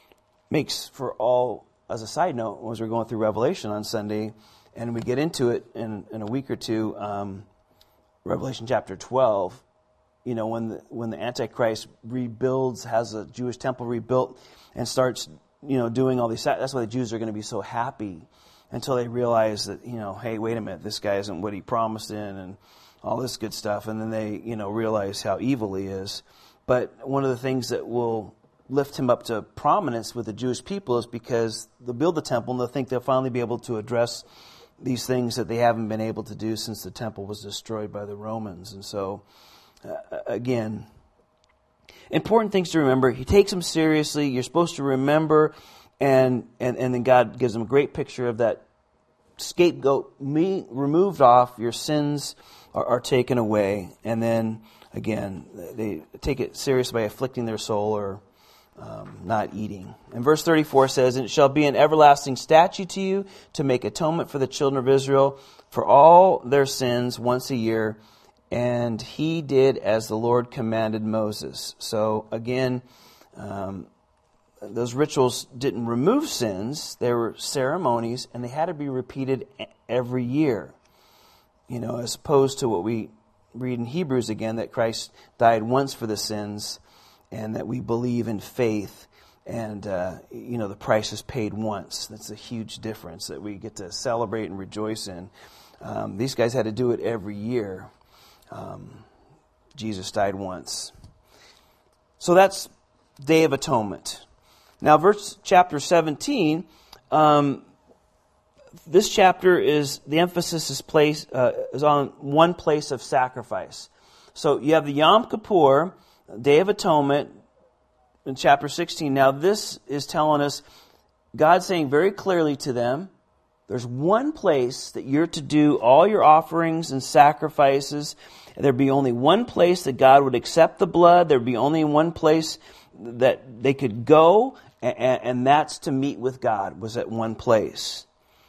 makes for all, as a side note, as we're going through Revelation on Sunday, and we get into it in, in a week or two, um, Revelation chapter twelve, you know, when the, when the Antichrist rebuilds, has a Jewish temple rebuilt, and starts, you know, doing all these, that's why the Jews are going to be so happy until they realize that, you know, hey, wait a minute, this guy isn't what he promised in, and all this good stuff, and then they, you know, realize how evil he is. But one of the things that will lift him up to prominence with the Jewish people is because they'll build the temple and they'll think they'll finally be able to address these things that they haven't been able to do since the temple was destroyed by the Romans. And so, uh, again, important things to remember. He takes them seriously. You're supposed to remember, and and, and then God gives them a great picture of that scapegoat me removed off. Your sins are, are taken away. And then, again, they take it serious by afflicting their soul or Um, not eating. And verse thirty-four says, "And it shall be an everlasting statute to you to make atonement for the children of Israel for all their sins once a year. And he did as the Lord commanded Moses." So again, um, those rituals didn't remove sins. They were ceremonies, and they had to be repeated every year. You know, as opposed to what we read in Hebrews again, that Christ died once for the sins, and that we believe in faith, and, uh, you know, the price is paid once. That's a huge difference that we get to celebrate and rejoice in. Um, these guys had to do it every year. Um, Jesus died once. So that's Day of Atonement. Now, verse chapter seventeen, um, this chapter is, the emphasis is, placed, uh, is on one place of sacrifice. So you have the Yom Kippur, Day of Atonement, in chapter sixteen. Now this is telling us, God saying very clearly to them, there's one place that you're to do all your offerings and sacrifices. There'd be only one place that God would accept the blood. There'd be only one place that they could go, and, and that's to meet with God, was at one place.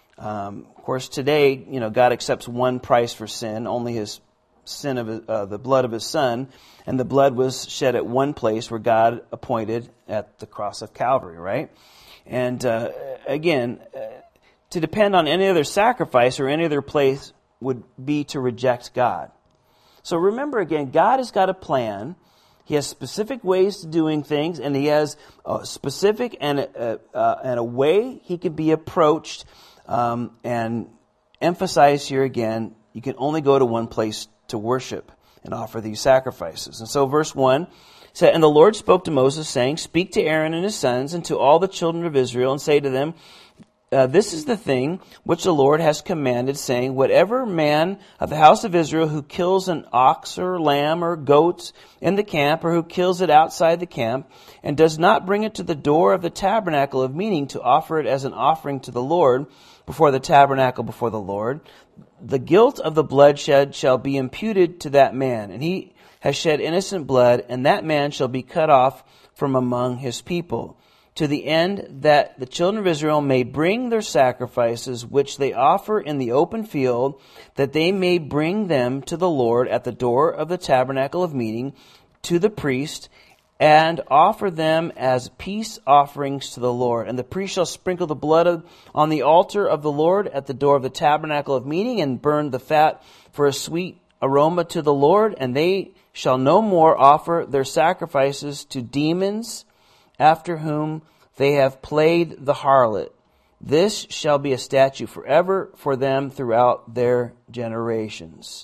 Um, of course, today, you know, God accepts one price for sin, only His sin of his, uh, the blood of His Son, and the blood was shed at one place where God appointed at the cross of Calvary, right? And uh, again, uh, to depend on any other sacrifice or any other place would be to reject God. So remember again, God has got a plan. He has specific ways to doing things, and He has a specific and a, uh, and a way He can be approached. Um, and emphasize here again, you can only go to one place to worship and offer these sacrifices. And so verse one said, "And the Lord spoke to Moses, saying, Speak to Aaron and his sons and to all the children of Israel, and say to them, uh, This is the thing which the Lord has commanded, saying, Whatever man of the house of Israel who kills an ox or lamb or goat in the camp, or who kills it outside the camp, and does not bring it to the door of the tabernacle of meeting to offer it as an offering to the Lord, before the tabernacle before the Lord, the guilt of the bloodshed shall be imputed to that man, and he has shed innocent blood, and that man shall be cut off from among his people, to the end that the children of Israel may bring their sacrifices which they offer in the open field, that they may bring them to the Lord at the door of the tabernacle of meeting, to the priest, and offer them as peace offerings to the Lord. And the priest shall sprinkle the blood of, on the altar of the Lord at the door of the tabernacle of meeting, and burn the fat for a sweet aroma to the Lord. And they shall no more offer their sacrifices to demons, after whom they have played the harlot. This shall be a statute forever for them throughout their generations."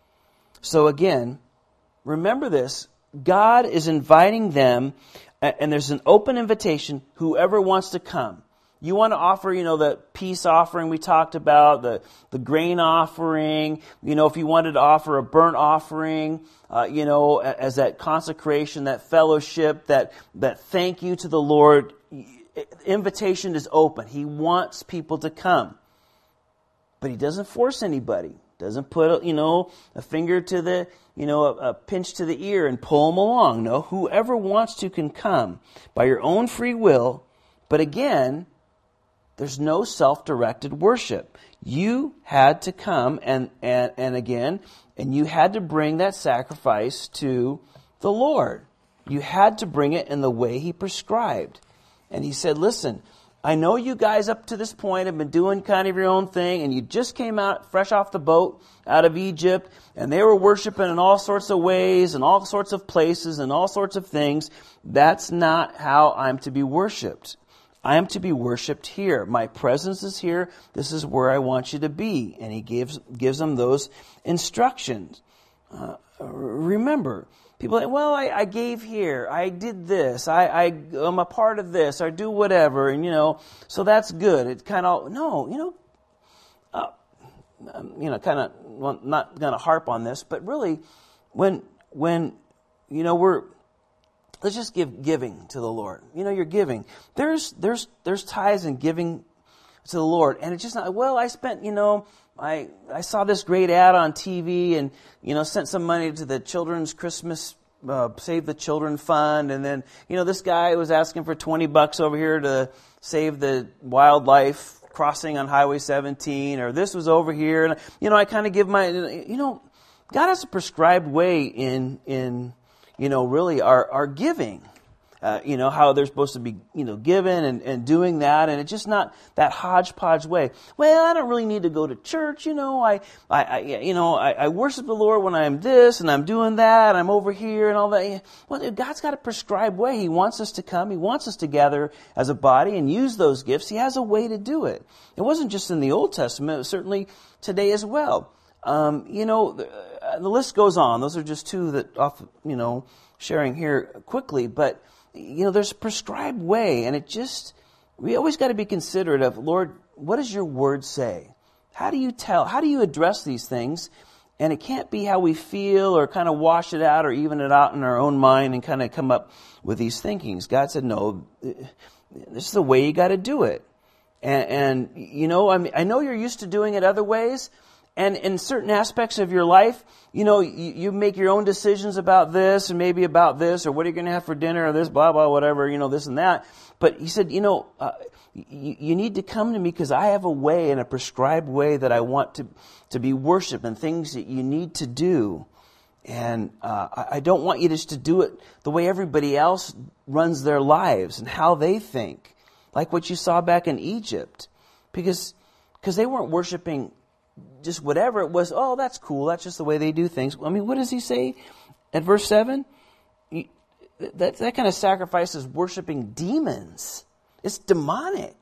So again, remember this. God is inviting them, and there's an open invitation, whoever wants to come. You want to offer, you know, the peace offering we talked about, the, the grain offering. You know, if you wanted to offer a burnt offering, uh, you know, as that consecration, that fellowship, that, that thank you to the Lord, invitation is open. He wants people to come. But He doesn't force anybody. Doesn't put, you know, a finger to the, you know, a, a pinch to the ear and pull them along. No, whoever wants to can come by your own free will. But again, there's no self-directed worship. You had to come and, and, and again, and you had to bring that sacrifice to the Lord. You had to bring it in the way He prescribed. And He said, listen, I know you guys up to this point have been doing kind of your own thing, and you just came out fresh off the boat out of Egypt, and they were worshiping in all sorts of ways and all sorts of places and all sorts of things. That's not how I'm to be worshipped. I am to be worshipped here. My presence is here. This is where I want you to be. And He gives gives them those instructions. Uh, remember, people say, well, I, I gave here. I did this. I, I, I'm a part of this. I do whatever. And, you know, so that's good. It's kind of, no, you know, uh, you know, kind of, well, not going to harp on this, but really, when, when, you know, we're, let's just give giving to the Lord. You know, you're giving. There's, there's, there's tithes and giving to the Lord. And it's just not, well, I spent, you know, I, I saw this great ad on T V and, you know, sent some money to the Children's Christmas, uh, Save the Children Fund. And then, you know, this guy was asking for twenty bucks over here to save the wildlife crossing on Highway seventeen, or this was over here. And, you know, I kind of give my, you know, God has a prescribed way in, in, you know, really our, our giving. Uh, you know, how they're supposed to be, you know, given and, and doing that. And it's just not that hodgepodge way. Well, I don't really need to go to church. You know, I, I, I you know, I, I worship the Lord when I'm this and I'm doing that. And I'm over here and all that. Well, God's got a prescribed way. He wants us to come. He wants us to gather as a body and use those gifts. He has a way to do it. It wasn't just in the Old Testament. It was certainly today as well. Um, you know, the, the list goes on. Those are just two that off, you know, sharing here quickly. But you know, there's a prescribed way, and it just, we always got to be considerate of, Lord, what does your word say? How do you tell, how do you address these things? And it can't be how we feel or kind of wash it out or even it out in our own mind and kind of come up with these thinkings. God said, no, this is the way you got to do it. And, and, you know, I mean, I know you're used to doing it other ways. And in certain aspects of your life, you know, you, you make your own decisions about this and maybe about this or what are you going to have for dinner or this, blah, blah, whatever, you know, this and that. But He said, you know, uh, you, you need to come to me because I have a way and a prescribed way that I want to, to be worshiped and things that you need to do. And uh, I, I don't want you just to do it the way everybody else runs their lives and how they think, like what you saw back in Egypt. Because because they weren't worshiping just whatever it was. Oh, that's cool. That's just the way they do things. I mean, what does He say at verse seven? That, that kind of sacrifice is worshiping demons. It's demonic.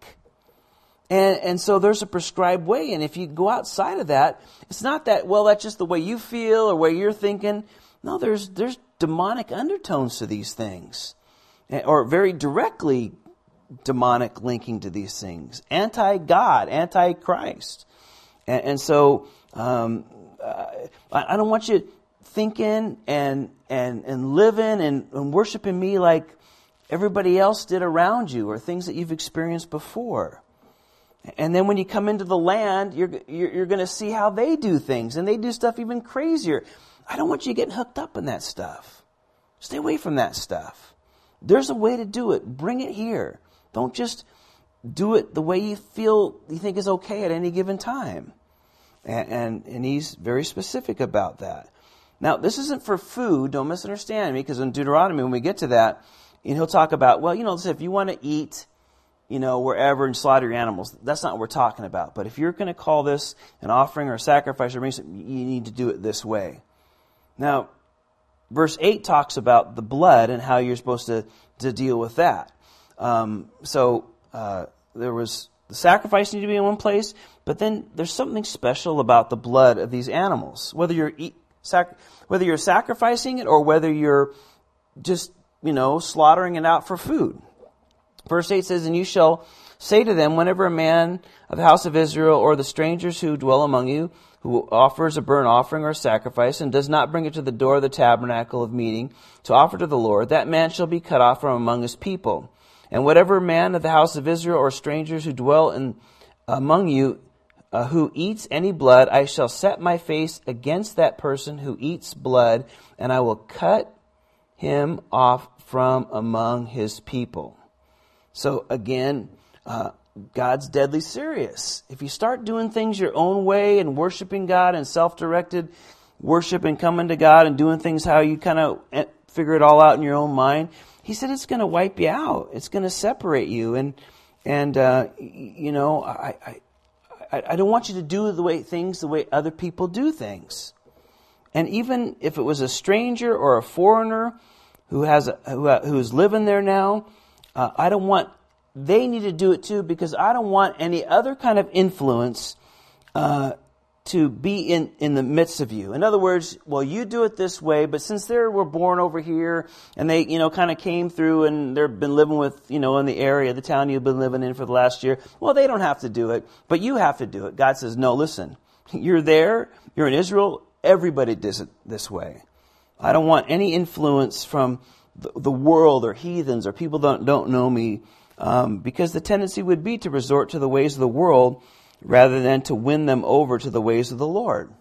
And, and so there's a prescribed way. And if you go outside of that, it's not that, well, that's just the way you feel or way you're thinking. No, there's, there's demonic undertones to these things. Or very directly demonic linking to these things. Anti-God, anti-Christ. And, and so um, uh, I, I don't want you thinking and and and living and, and worshiping me like everybody else did around you or things that you've experienced before. And then when you come into the land, you're you're, you're going to see how they do things, and they do stuff even crazier. I don't want you getting hooked up in that stuff. Stay away from that stuff. There's a way to do it. Bring it here. Don't just do it the way you feel you think is okay at any given time. And, and, and He's very specific about that. Now, this isn't for food. Don't misunderstand me, because in Deuteronomy, when we get to that, and He'll talk about, well, you know, if you want to eat, you know, wherever and slaughter your animals, that's not what we're talking about. But if you're going to call this an offering or a sacrifice, or you need to do it this way. Now, verse eight talks about the blood and how you're supposed to, to deal with that. Um, so, Uh, there was the sacrifice needed to be in one place, but then there's something special about the blood of these animals. Whether you're eat, sac, whether you're sacrificing it or whether you're just, you know, slaughtering it out for food. Verse eight says, and you shall say to them, whenever a man of the house of Israel or the strangers who dwell among you, who offers a burnt offering or a sacrifice, and does not bring it to the door of the tabernacle of meeting to offer to the Lord, that man shall be cut off from among his people. And whatever man of the house of Israel or strangers who dwell in among you, uh, who eats any blood, I shall set my face against that person who eats blood, and I will cut him off from among his people. So again, uh, God's deadly serious. If you start doing things your own way and worshiping God and self-directed worship and coming to God and doing things how you kind of figure it all out in your own mind, He said it's going to wipe you out. It's going to separate you. And, and uh, you know, I, I, I don't want you to do the way things the way other people do things. And even if it was a stranger or a foreigner who has a, who, who's living there now, uh, I don't want they need to do it too, because I don't want any other kind of influence uh, to be in, in the midst of you. In other words, well, you do it this way, but since they were born over here and they, you know, kind of came through and they've been living with, you know, in the area, the town you've been living in for the last year, well, they don't have to do it, but you have to do it. God says, no, listen, you're there, you're in Israel, everybody does it this way. I don't want any influence from the, the world or heathens or people that don't, don't know me. Um, because the tendency would be to resort to the ways of the world rather than to win them over to the ways of the Lord.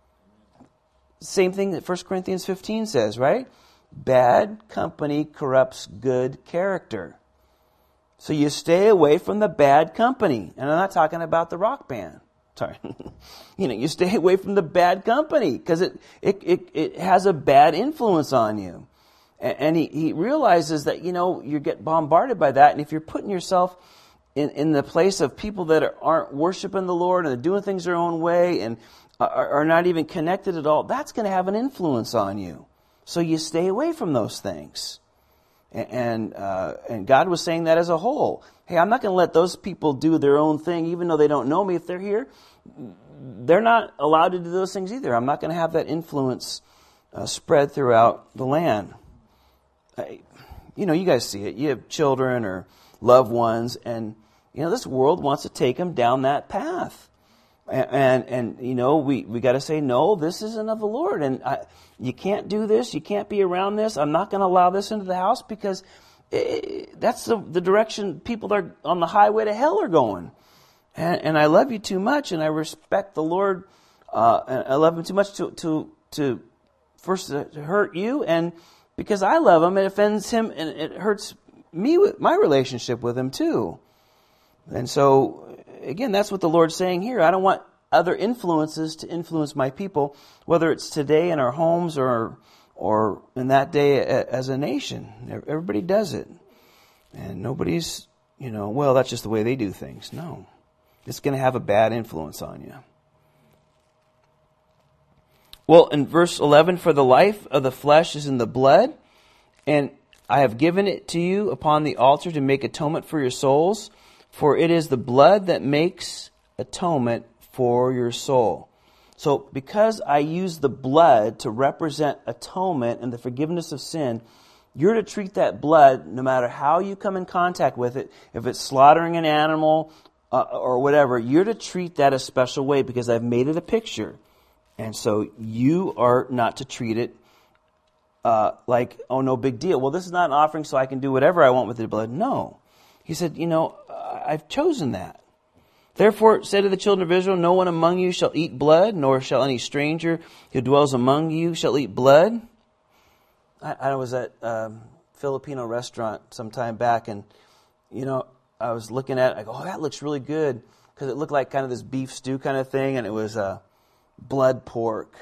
Same thing that First Corinthians fifteen says, right? Bad company corrupts good character. So you stay away from the bad company. And I'm not talking about the rock band. Sorry. You know, you stay away from the bad company because it, it, it, it has a bad influence on you. And he, he realizes that, you know, you get bombarded by that. And if you're putting yourself in, in the place of people that are, aren't worshiping the Lord and they're doing things their own way and are, are not even connected at all, that's going to have an influence on you. So you stay away from those things. And and, uh, and God was saying that as a whole. Hey, I'm not going to let those people do their own thing, even though they don't know me. If they're here, they're not allowed to do those things either. I'm not going to have that influence uh, spread throughout the land. You know, you guys see it. You have children or loved ones, and you know this world wants to take them down that path. And and, and you know we we got to say no. This isn't of the Lord, and I, you can't do this. You can't be around this. I'm not going to allow this into the house because it, that's the the direction people that are on the highway to hell are going. And, and I love you too much, and I respect the Lord. Uh, and I love Him too much to to to first to hurt you and. Because I love Him, it offends Him, and it hurts me with my relationship with Him too. And so, again, that's what the Lord's saying here. I don't want other influences to influence my people, whether it's today in our homes or or in that day as a nation. Everybody does it. And nobody's, you know, well, that's just the way they do things. No. It's going to have a bad influence on you. Well, in verse eleven, for the life of the flesh is in the blood, and I have given it to you upon the altar to make atonement for your souls, for it is the blood that makes atonement for your soul. So because I use the blood to represent atonement and the forgiveness of sin, you're to treat that blood, no matter how you come in contact with it, if it's slaughtering an animal uh, or whatever, you're to treat that a special way because I've made it a picture. And so you are not to treat it uh, like, oh, no big deal. Well, this is not an offering, so I can do whatever I want with the blood. No. He said, you know, I've chosen that. Therefore, said to the children of Israel, no one among you shall eat blood, nor shall any stranger who dwells among you shall eat blood. I, I was at a Filipino restaurant some time back, and, you know, I was looking at it. I go, oh, that looks really good, because it looked like kind of this beef stew kind of thing, and it was uh, blood pork.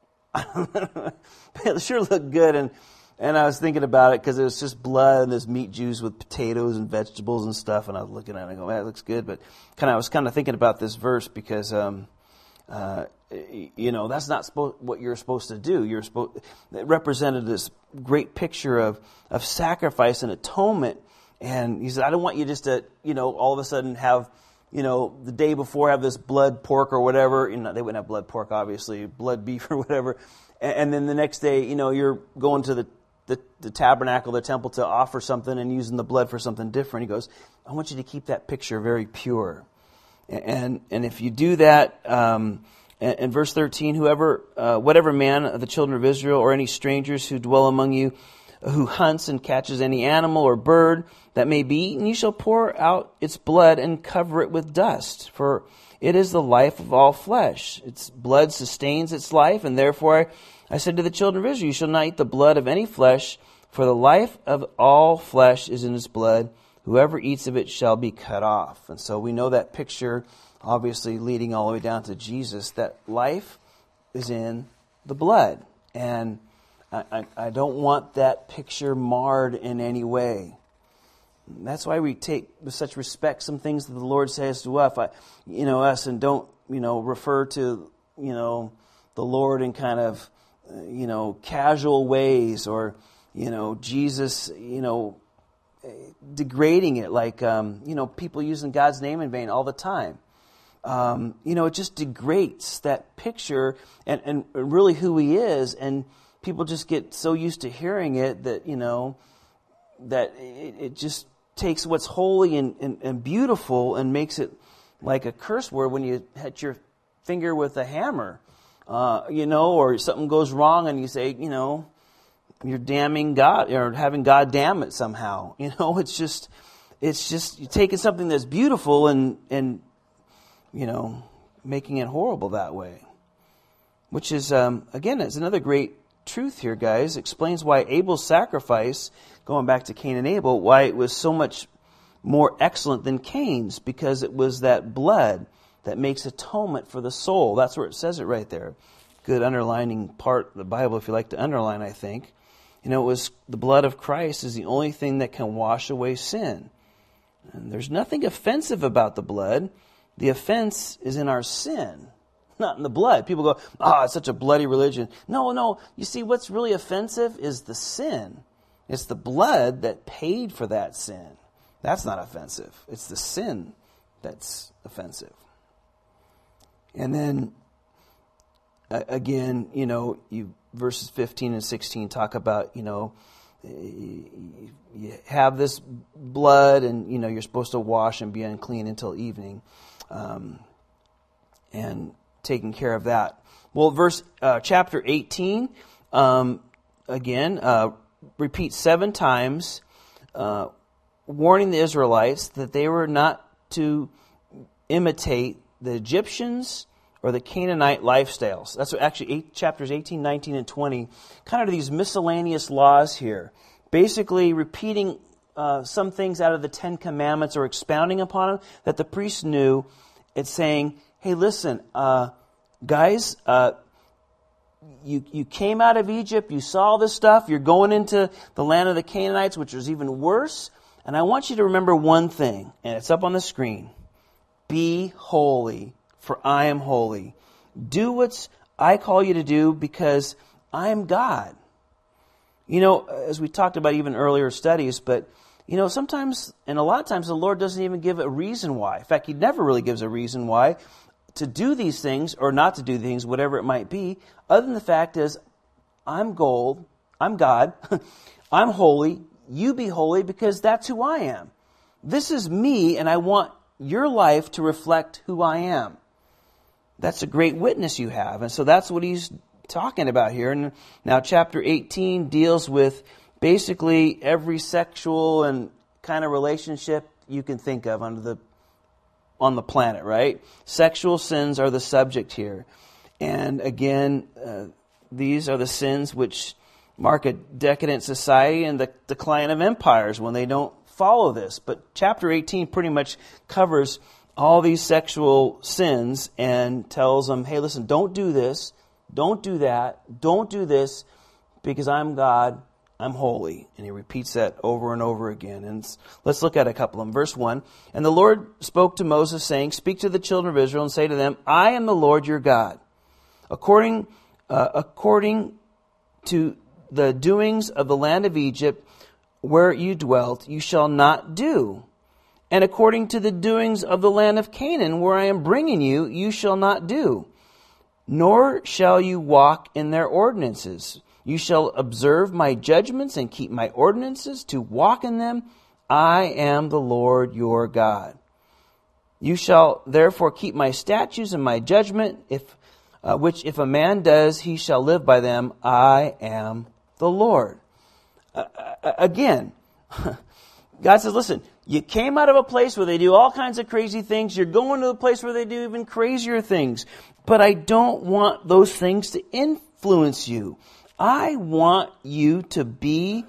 It sure looked good, and and I was thinking about it because it was just blood and this meat juice with potatoes and vegetables and stuff, and I was looking at it and I go, man, that looks good, but kind of I was kind of thinking about this verse because, um, uh, you know, that's not supposed what you're supposed to do. You're supposed it represented this great picture of of sacrifice and atonement, and he said, I don't want you just to, you know, all of a sudden have, you know, the day before have this blood pork or whatever. You know, they wouldn't have blood pork, obviously, blood beef or whatever. And, and then the next day, you know, you're going to the the, the tabernacle, the temple, to offer something and using the blood for something different. He goes, I want you to keep that picture very pure. And and if you do that, um, in verse thirteen, whoever, uh, whatever man of the children of Israel or any strangers who dwell among you, who hunts and catches any animal or bird that may be eaten, you shall pour out its blood and cover it with dust. For it is the life of all flesh. Its blood sustains its life, and therefore I, I said to the children of Israel, you shall not eat the blood of any flesh, for the life of all flesh is in its blood. Whoever eats of it shall be cut off. And so we know that picture, obviously leading all the way down to Jesus, that life is in the blood. And I, I, I don't want that picture marred in any way. That's why we take with such respect some things that the Lord says to us, I, you know, us, and don't, you know, refer to, you know, the Lord in kind of, uh, you know, casual ways, or, you know, Jesus, you know, degrading it, like, um, you know, people using God's name in vain all the time. Um, you know, it just degrades that picture and, and really who He is, and people just get so used to hearing it that, you know, that it, it just takes what's holy and, and, and beautiful and makes it like a curse word when you hit your finger with a hammer, uh, you know, or something goes wrong and you say, you know, you're damning God, or having God damn it somehow. You know, it's just, it's just you're taking something that's beautiful and, and, you know, making it horrible that way. Which is, um, again, it's another great truth here, guys. Explains why Abel's sacrifice, going back to Cain and Abel, why it was so much more excellent than Cain's, because it was that blood that makes atonement for the soul. That's where it says it right there. Good underlining part of the Bible, if you like to underline, I think. You know, it was the blood of Christ is the only thing that can wash away sin. And there's nothing offensive about the blood. The offense is in our sin, not in the blood. People go, ah, oh, it's such a bloody religion. No, no. You see, what's really offensive is the sin. It's the blood that paid for that sin. That's not offensive. It's the sin that's offensive. And then, again, you know, you verses fifteen and sixteen talk about, you know, you have this blood and, you know, you're supposed to wash and be unclean until evening. Um, and taking care of that. Well, verse uh, chapter eighteen, um, again, uh, repeats seven times, uh, warning the Israelites that they were not to imitate the Egyptians or the Canaanite lifestyles. That's what actually eight, chapters eighteen, nineteen, and twenty, kind of these miscellaneous laws here, basically repeating uh, some things out of the Ten Commandments or expounding upon them that the priests knew. It's saying, hey, listen, uh, guys, uh, you you came out of Egypt, you saw this stuff, you're going into the land of the Canaanites, which is even worse, and I want you to remember one thing, and it's up on the screen. Be holy, for I am holy. Do what I call you to do, because I am God. You know, as we talked about even earlier studies, but, you know, sometimes, and a lot of times, the Lord doesn't even give a reason why. In fact, He never really gives a reason why to do these things or not to do things, whatever it might be, other than the fact is, I'm gold, I'm God, I'm holy, you be holy, because that's who I am. This is me, and I want your life to reflect who I am. That's a great witness you have. And so that's what He's talking about here. And now chapter eighteen deals with basically every sexual and kind of relationship you can think of under the on the planet, right? Sexual sins are the subject here. And again, uh, these are the sins which mark a decadent society and the decline of empires when they don't follow this. But chapter eighteen pretty much covers all these sexual sins and tells them, hey, listen, don't do this, don't do that, don't do this, because I'm God, I'm holy. And He repeats that over and over again. And let's look at a couple of them. Verse one, and the Lord spoke to Moses, saying, speak to the children of Israel and say to them, I am the Lord your God. According, uh, according to the doings of the land of Egypt, where you dwelt, you shall not do. And according to the doings of the land of Canaan, where I am bringing you, you shall not do. Nor shall you walk in their ordinances. You shall observe my judgments and keep my ordinances to walk in them. I am the Lord your God. You shall therefore keep my statutes and my judgment, if uh, which if a man does, he shall live by them. I am the Lord. Uh, again, God says, listen, you came out of a place where they do all kinds of crazy things. You're going to a place where they do even crazier things. But I don't want those things to influence you. I want you to be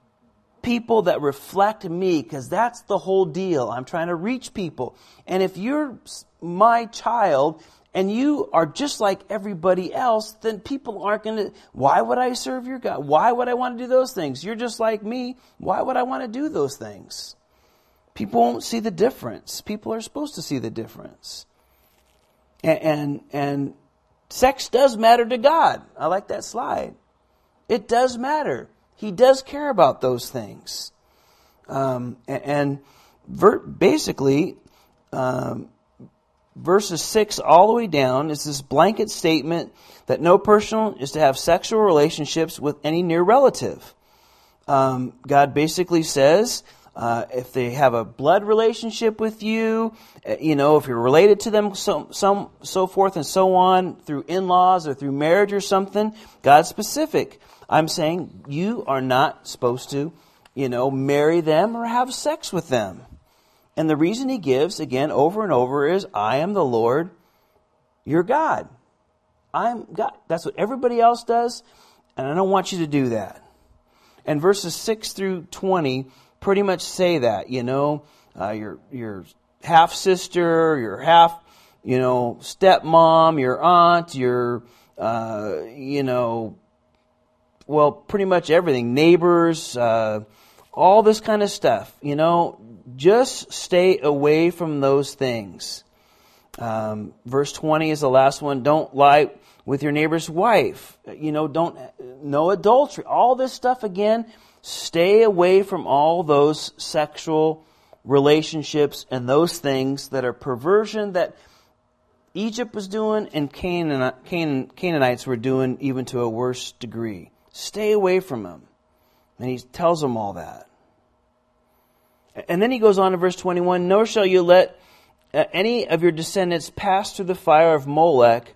people that reflect me, because that's the whole deal. I'm trying to reach people. And if you're my child and you are just like everybody else, then people aren't going to, why would I serve your God? Why would I want to do those things? You're just like me. Why would I want to do those things? People won't see the difference. People are supposed to see the difference. And, and, and sex does matter to God. I like that slide. It does matter. He does care about those things. Um, and and ver- basically, um, verses six all the way down is this blanket statement that no person is to have sexual relationships with any near relative. Um, God basically says, uh, if they have a blood relationship with you, you know, if you're related to them, so, some, so forth and so on, through in-laws or through marriage or something, God's specific. I'm saying you are not supposed to, you know, marry them or have sex with them. And the reason he gives, again, over and over is, I am the Lord, your God. I'm God. That's what everybody else does, and I don't want you to do that. And verses six through twenty pretty much say that, you know, uh, your your half sister, your half, you know, stepmom, your aunt, your, uh, you know, well, pretty much everything, neighbors, uh, all this kind of stuff, you know, just stay away from those things. Um, verse twenty is the last one. Don't lie with your neighbor's wife. You know, don't, no adultery. All this stuff again, stay away from all those sexual relationships and those things that are perversion that Egypt was doing and Canaan, Canaan, Canaanites were doing even to a worse degree. Stay away from them. And he tells them all that. And then he goes on to verse twenty-one, nor shall you let uh, any of your descendants pass through the fire of Molech,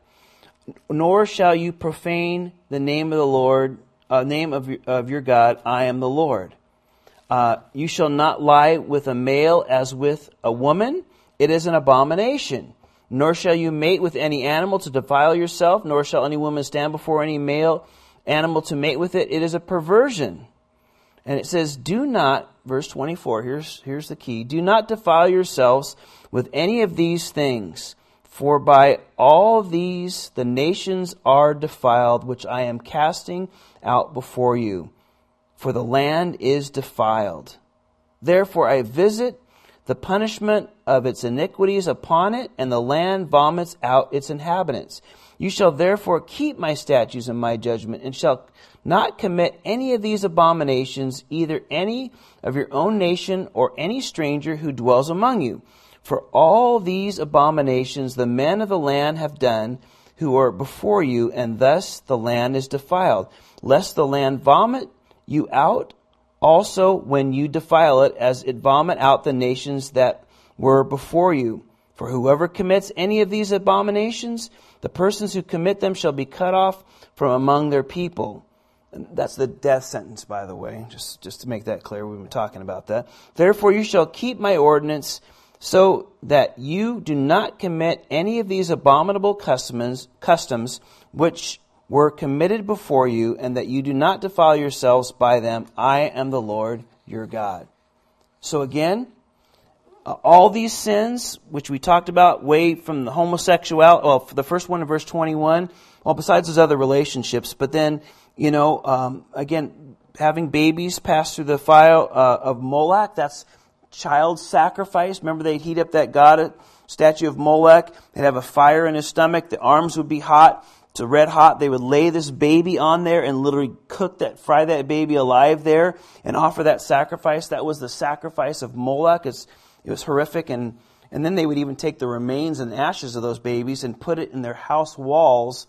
nor shall you profane the name of the Lord, uh, name of your, of your God. I am the Lord. Uh, you shall not lie with a male as with a woman. It is an abomination. Nor shall you mate with any animal to defile yourself, nor shall any woman stand before any male animal to mate with it. It is a perversion. And it says, do not, verse twenty-four, here's, here's the key, do not defile yourselves with any of these things, for by all these the nations are defiled, which I am casting out before you. For the land is defiled. Therefore I visit the punishment of its iniquities upon it, and the land vomits out its inhabitants. You shall therefore keep my statutes and my judgment, and shall not commit any of these abominations, either any of your own nation or any stranger who dwells among you. For all these abominations the men of the land have done who are before you, and thus the land is defiled. Lest the land vomit you out also when you defile it, as it vomit out the nations that were before you. For whoever commits any of these abominations, the persons who commit them shall be cut off from among their people. And that's the death sentence, by the way, just, just to make that clear. We've been talking about that. Therefore you shall keep my ordinance, so that you do not commit any of these abominable customs, customs which were committed before you, and that you do not defile yourselves by them. I am the Lord your God. So again, uh, all these sins, which we talked about way from the homosexuality, well, the first one in verse twenty-one, well, besides those other relationships, but then, you know, um, again, having babies pass through the fire uh, of Moloch, that's child sacrifice. Remember, they'd heat up that god statue of Molech. They'd have a fire in his stomach. The arms would be hot. It's a red hot. They would lay this baby on there and literally cook that, fry that baby alive there and offer that sacrifice. That was the sacrifice of Molech. It's, it was horrific. And, and then they would even take the remains and ashes of those babies and put it in their house walls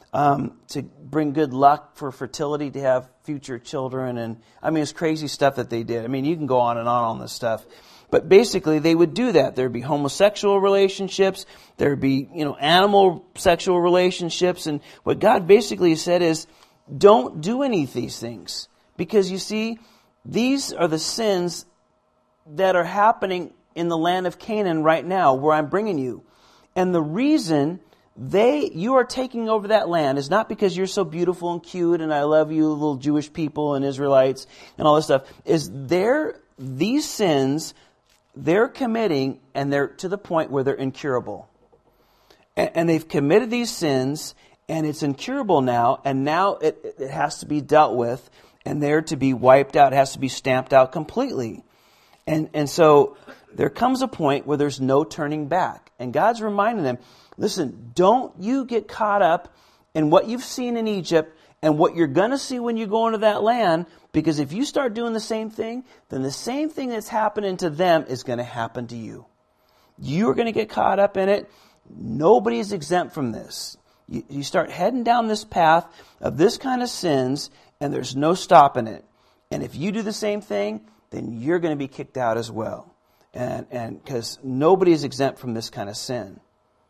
um, to bring good luck for fertility, to have future children. And I mean, it's crazy stuff that they did. I mean, you can go on and on on this stuff. But basically, they would do that. There'd be homosexual relationships. There'd be, you know, animal sexual relationships. And what God basically said is, don't do any of these things. Because you see, these are the sins that are happening in the land of Canaan right now, where I'm bringing you. And the reason they, you are taking over that land is not because you're so beautiful and cute and I love you, little Jewish people and Israelites and all this stuff. Is they're, these sins they're committing, and they're to the point where they're incurable. And, and they've committed these sins, and it's incurable now, and now it, it has to be dealt with, and they're to be wiped out. It has to be stamped out completely. And, and so there comes a point where there's no turning back. And God's reminding them, listen, don't you get caught up in what you've seen in Egypt and what you're going to see when you go into that land, because if you start doing the same thing, then the same thing that's happening to them is going to happen to you. You're going to get caught up in it. Nobody's exempt from this. You, you start heading down this path of this kind of sins, and there's no stopping it. And if you do the same thing, then you're going to be kicked out as well. And and because nobody is exempt from this kind of sin.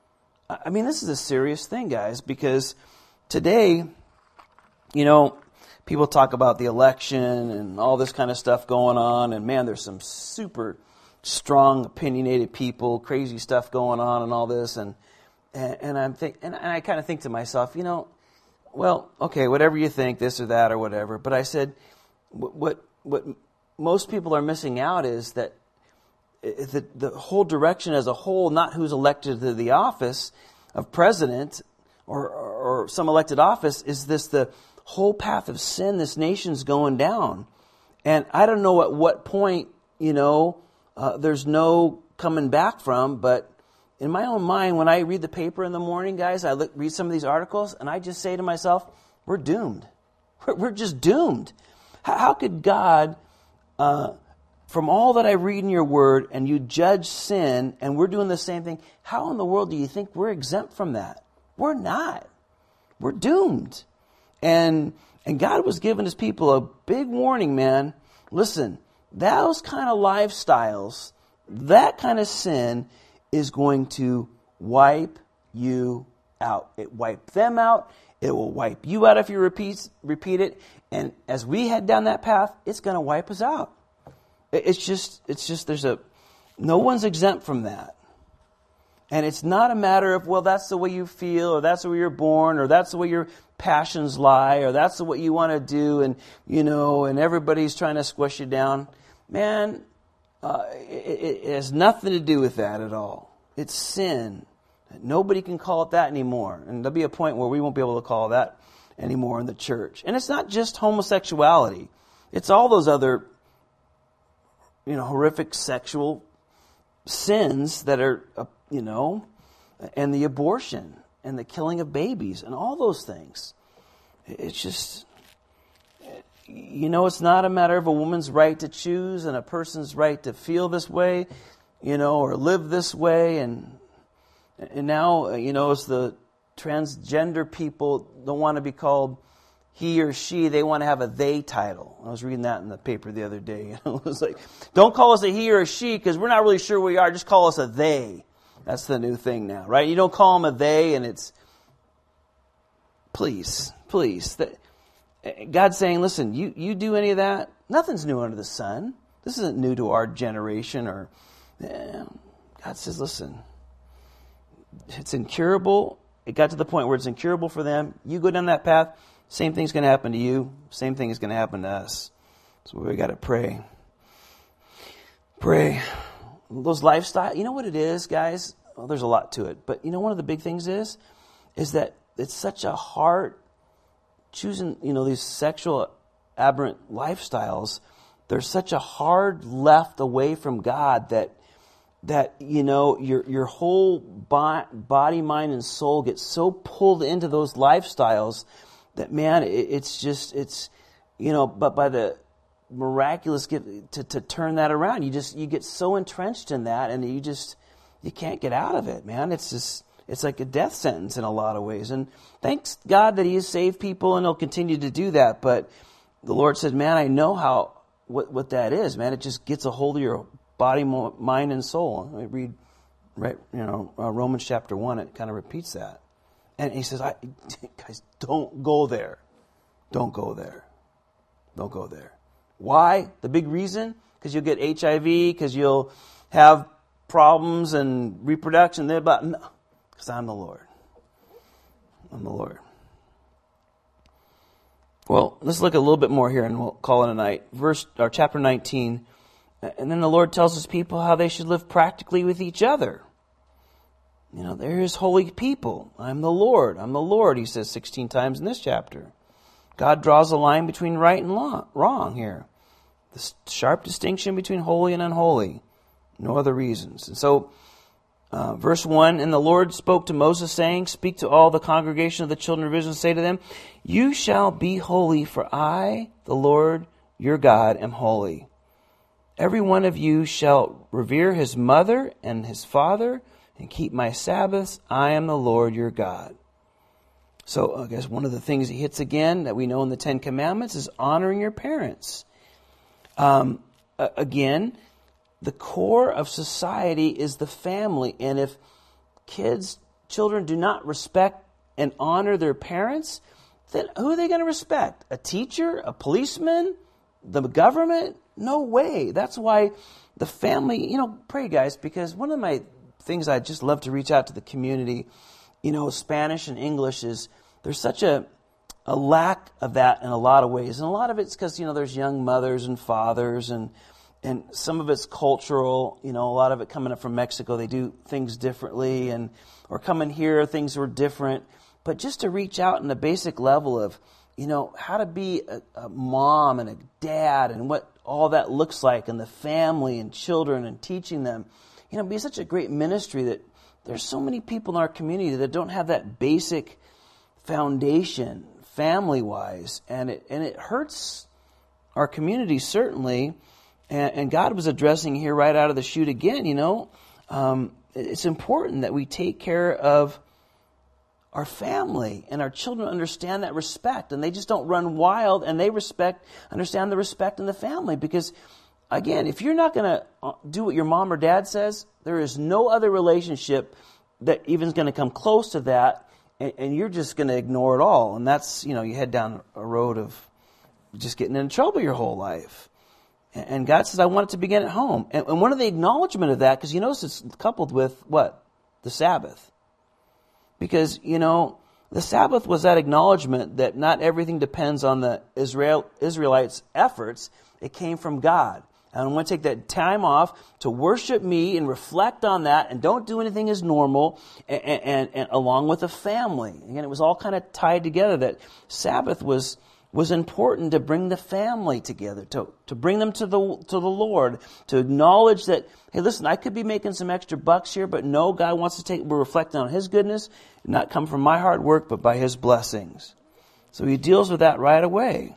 I mean, this is a serious thing, guys, because today, you know, people talk about the election and all this kind of stuff going on, and man, there's some super strong, opinionated people, crazy stuff going on, and all this, and and, and I'm think, and I kind of think to myself, you know, well, okay, whatever you think, this or that or whatever, but I said, what what, what most people are missing out is that the the whole direction as a whole, not who's elected to the office of president or or, or some elected office, is this the whole path of sin this nation's going down. And I don't know at what point, you know, uh, there's no coming back from, but in my own mind, when I read the paper in the morning, guys, I look, read some of these articles, and I just say to myself, we're doomed. We're, we're just doomed. How, how could God, uh, from all that I read in your word, and you judge sin, and we're doing the same thing, how in the world do you think we're exempt from that? We're not. We're doomed. And and God was giving his people a big warning, man. Listen, those kind of lifestyles, that kind of sin is going to wipe you out. It wiped them out. It will wipe you out if you repeat, repeat it. And as we head down that path, it's going to wipe us out. It's just, it's just, there's a, no one's exempt from that. And it's not a matter of, well, that's the way you feel, or that's the way you're born, or that's the way your passions lie, or that's the what you want to do, and, you know, and everybody's trying to squish you down. Man, uh, it, it has nothing to do with that at all. It's sin. Nobody can call it that anymore. And there'll be a point where we won't be able to call that anymore in the church. And it's not just homosexuality. It's all those other, you know, horrific sexual sins that are, uh, you know, and the abortion and the killing of babies and all those things. It's just, you know, it's not a matter of a woman's right to choose and a person's right to feel this way, you know, or live this way. And and now, you know, it's the transgender people don't want to be called he or she. They want to have a they title. I was reading that in the paper the other day. It was like, don't call us a he or a she because we're not really sure we are. Just call us a they. That's the new thing now, right? You don't call them a they, and it's, please, please. God's saying, listen, you, you do any of that, nothing's new under the sun. This isn't new to our generation. Or eh. God says, listen, it's incurable. It got to the point where it's incurable for them. You go down that path, same thing's going to happen to you. Same thing is going to happen to us. So we got to pray. Pray. Those lifestyle, you know what it is, guys? Well, there's a lot to it. But you know one of the big things is, is that it's such a hard, choosing, you know, these sexual aberrant lifestyles, there's such a hard left away from God that, that you know, your your whole body, mind, and soul gets so pulled into those lifestyles that, man, it, it's just, it's, you know, but by the miraculous gift to, to turn that around, you just, you get so entrenched in that, and you just, you can't get out of it, man. It's just, it's like a death sentence in a lot of ways. And thanks God that he has saved people and he'll continue to do that. But the Lord said, man, I know how what, what that is, man. It just gets a hold of your body, mind, and soul. I read, right, you know, uh, Romans chapter one, it kind of repeats that. And he says, I, guys, don't go there. Don't go there. Don't go there. Why? The big reason? Because you'll get H I V, because you'll have problems and reproduction. But no, because I'm the Lord. I'm the Lord. Well, let's look a little bit more here and we'll call it a night. Verse or chapter nineteen. And then the Lord tells his people how they should live practically with each other. You know, they're his holy people. I'm the Lord. I'm the Lord, he says sixteen times in this chapter. God draws a line between right and wrong here. The sharp distinction between holy and unholy. No other reasons. And so, uh, verse one, and the Lord spoke to Moses, saying, speak to all the congregation of the children of Israel, and say to them, you shall be holy, for I, the Lord your God, am holy. Every one of you shall revere his mother and his father, and keep my Sabbaths. I am the Lord your God. So I guess one of the things he hits again that we know in the Ten Commandments is honoring your parents. Um, again, the core of society is the family. And if kids, children do not respect and honor their parents, then who are they going to respect? A teacher? A policeman? The government? No way. That's why the family, you know, pray guys, because one of my things I just love to reach out to the community, you know, Spanish and English is, there's such a a lack of that in a lot of ways. And a lot of it's because, you know, there's young mothers and fathers and and some of it's cultural, you know, a lot of it coming up from Mexico, they do things differently, and or coming here, things were different. But just to reach out in the basic level of, you know, how to be a, a mom and a dad and what all that looks like, and the family and children and teaching them, you know, be such a great ministry that there's so many people in our community that don't have that basic foundation family-wise, and it and it hurts our community certainly. And, and God was addressing here right out of the chute again. You know, um, it's important that we take care of our family and our children understand that respect, and they just don't run wild, and they respect, understand the respect in the family. Because again, if you're not going to do what your mom or dad says, there is no other relationship that even is going to come close to that. And you're just going to ignore it all. And that's, you know, you head down a road of just getting in trouble your whole life. And God says, I want it to begin at home. And one of the acknowledgement of that, because you notice it's coupled with what? The Sabbath. Because, you know, the Sabbath was that acknowledgement that not everything depends on the Israel Israelites' efforts. It came from God. And I'm going to take that time off to worship me and reflect on that, and don't do anything as normal, and, and, and along with the family. Again, it was all kind of tied together, that Sabbath was was important to bring the family together, to to bring them to the to the Lord, to acknowledge that, hey, listen, I could be making some extra bucks here, but no, God wants to take, we're reflecting on his goodness, not come from my hard work, but by his blessings. So he deals with that right away.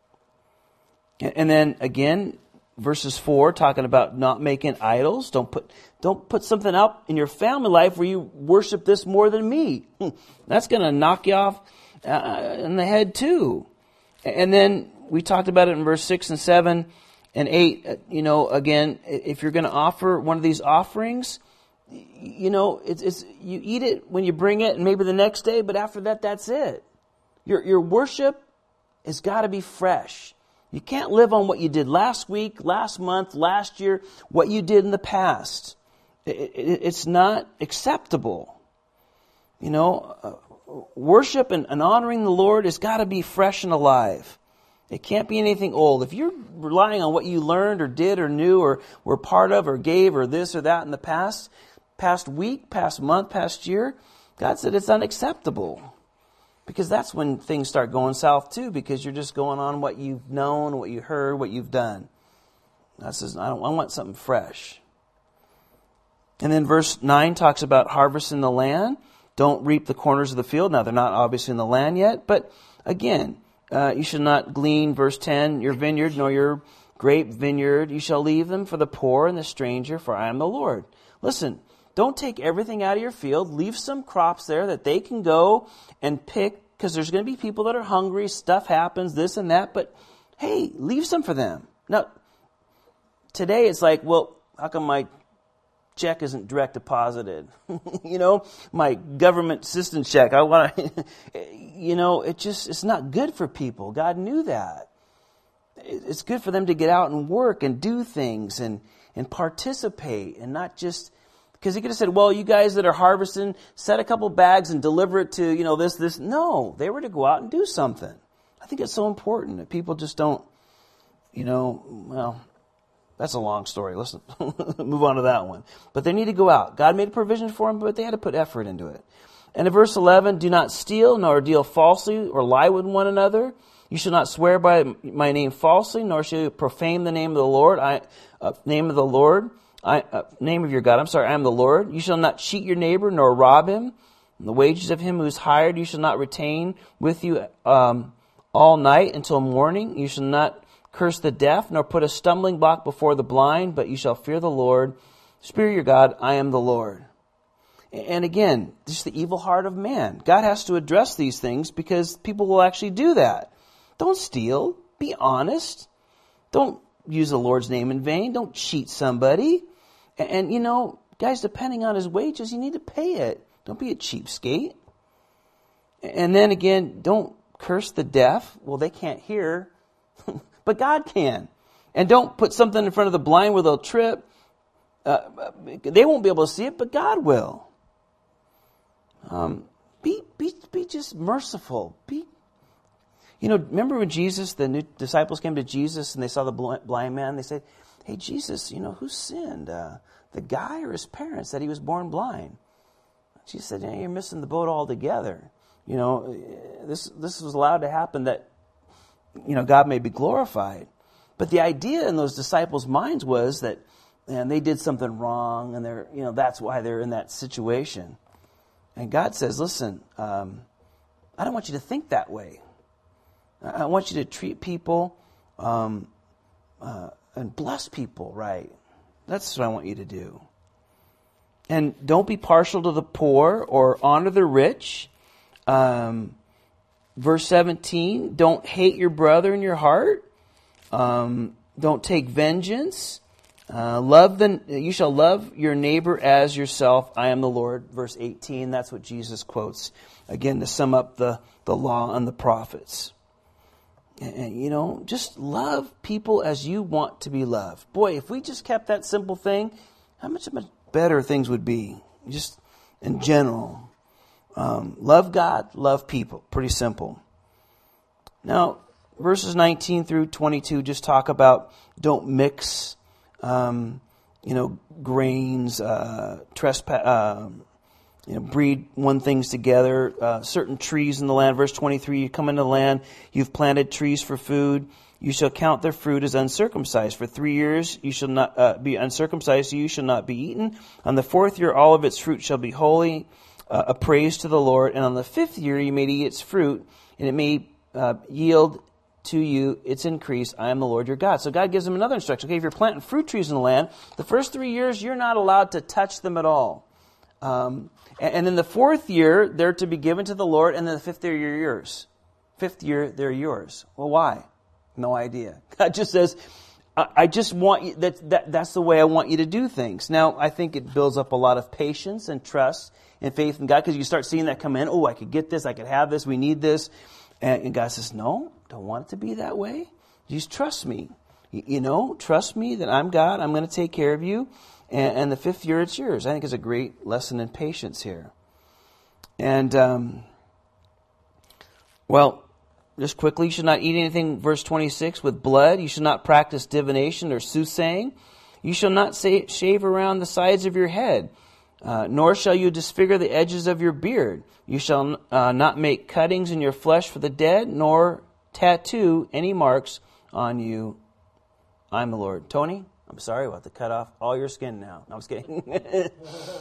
And, and then again, verses four, talking about not making idols. Don't put don't put something up in your family life where you worship this more than me. That's going to knock you off uh, in the head too. And then we talked about it in verse six and seven and eight. You know, again, if you're going to offer one of these offerings, you know, it's, it's you eat it when you bring it, and maybe the next day. But after that, that's it. Your your worship has got to be fresh. You can't live on what you did last week, last month, last year, what you did in the past. It, it, it's not acceptable. You know, uh, worship and, and honoring the Lord has got to be fresh and alive. It can't be anything old. If you're relying on what you learned or did or knew or were part of or gave or this or that in the past, past week, past month, past year, God said it's unacceptable. Because that's when things start going south too, because you're just going on what you've known, what you heard, what you've done. God says, I, don't, I want something fresh. And then verse nine talks about harvesting the land. Don't reap the corners of the field. Now, they're not obviously in the land yet, but again, uh, you should not glean, verse ten, your vineyard nor your grape vineyard. You shall leave them for the poor and the stranger, for I am the Lord. Listen, Don't take everything out of your field. Leave some crops there that they can go and pick, because there's going to be people that are hungry. Stuff happens, this and that. But hey, leave some for them. Now, today it's like, well, how come my check isn't direct deposited? You know, my government assistance check. I want to, you know, it just, it's not good for people. God knew that. It's good for them to get out and work and do things and, and participate, and not just, because he could have said, well, you guys that are harvesting, set a couple bags and deliver it to, you know, this, this. No, they were to go out and do something. I think it's so important that people just don't, you know, well, that's a long story. Let's move on to that one. But they need to go out. God made a provision for them, but they had to put effort into it. And in verse eleven, do not steal, nor deal falsely, or lie with one another. You shall not swear by my name falsely, nor shall you profane the name of the Lord. I, uh, name of the Lord, I, uh, name of your God. I'm sorry, I am the Lord. You shall not cheat your neighbor, nor rob him. And the wages of him who is hired, you shall not retain with you um, all night until morning. You shall not curse the deaf, nor put a stumbling block before the blind, but you shall fear the Lord. Fear your God, I am the Lord. And again, just the evil heart of man. God has to address these things because people will actually do that. Don't steal. Be honest. Don't use the Lord's name in vain. Don't cheat somebody. And, and you know, guys, depending on his wages, you need to pay it. Don't be a cheapskate. And then again, don't curse the deaf. Well, they can't hear. But God can. And don't put something in front of the blind where they'll trip. Uh, they won't be able to see it, but God will. Um, be be be just merciful. Be, you know, remember when Jesus, the new disciples came to Jesus and they saw the blind man. They said, "Hey, Jesus, you know, who sinned, uh, the guy or his parents, that he was born blind?" Jesus said, "Yeah, you're missing the boat altogether. You know, this this was allowed to happen that, you know, God may be glorified." But the idea in those disciples' minds was that, and they did something wrong, and they're, you know, that's why they're in that situation. And God says, listen, um, I don't want you to think that way. I want you to treat people um, uh, and bless people right. That's what I want you to do. And don't be partial to the poor or honor the rich. Um, verse seventeen, don't hate your brother in your heart. Um, don't take vengeance. Uh, love the, you shall love your neighbor as yourself. I am the Lord. Verse eighteen, that's what Jesus quotes. Again, to sum up the, the law and the prophets. And, and, you know, just love people as you want to be loved. Boy, if we just kept that simple thing, how much, much better things would be. Just in general. Um, love God, love people. Pretty simple. Now, verses nineteen through twenty-two just talk about don't mix, um, you know, grains, uh, trespass, uh, you know, breed one things together. Uh, certain trees in the land. Verse twenty-three: you come into the land, you've planted trees for food. You shall count their fruit as uncircumcised. For three years you shall not uh, be uncircumcised. You shall not be eaten. On the fourth year, all of its fruit shall be holy, uh, a praise to the Lord. And on the fifth year, you may eat its fruit, and it may uh, yield to you its increase. I am the Lord your God. So God gives them another instruction. Okay, if you're planting fruit trees in the land, the first three years you're not allowed to touch them at all. Um, and, and in the fourth year, they're to be given to the Lord, and then the fifth year, you're yours. Fifth year, they're yours. Well, why? No idea. God just says, I, I just want you, that, that, that's the way I want you to do things. Now, I think it builds up a lot of patience and trust and faith in God, because you start seeing that come in. Oh, I could get this, I could have this, we need this. And, and God says, no, don't want it to be that way. Just trust me. You, you know, trust me that I'm God, I'm going to take care of you. And, and the fifth year, it's yours. I think it's a great lesson in patience here. And, um, well, just quickly, you should not eat anything, verse twenty-six, with blood. You should not practice divination or soothsaying. You shall not say, shave around the sides of your head, uh, nor shall you disfigure the edges of your beard. You shall uh, not make cuttings in your flesh for the dead, nor tattoo any marks on you. I'm the Lord. Tony, I'm sorry, we'll have to cut off all your skin now. No, I'm just kidding.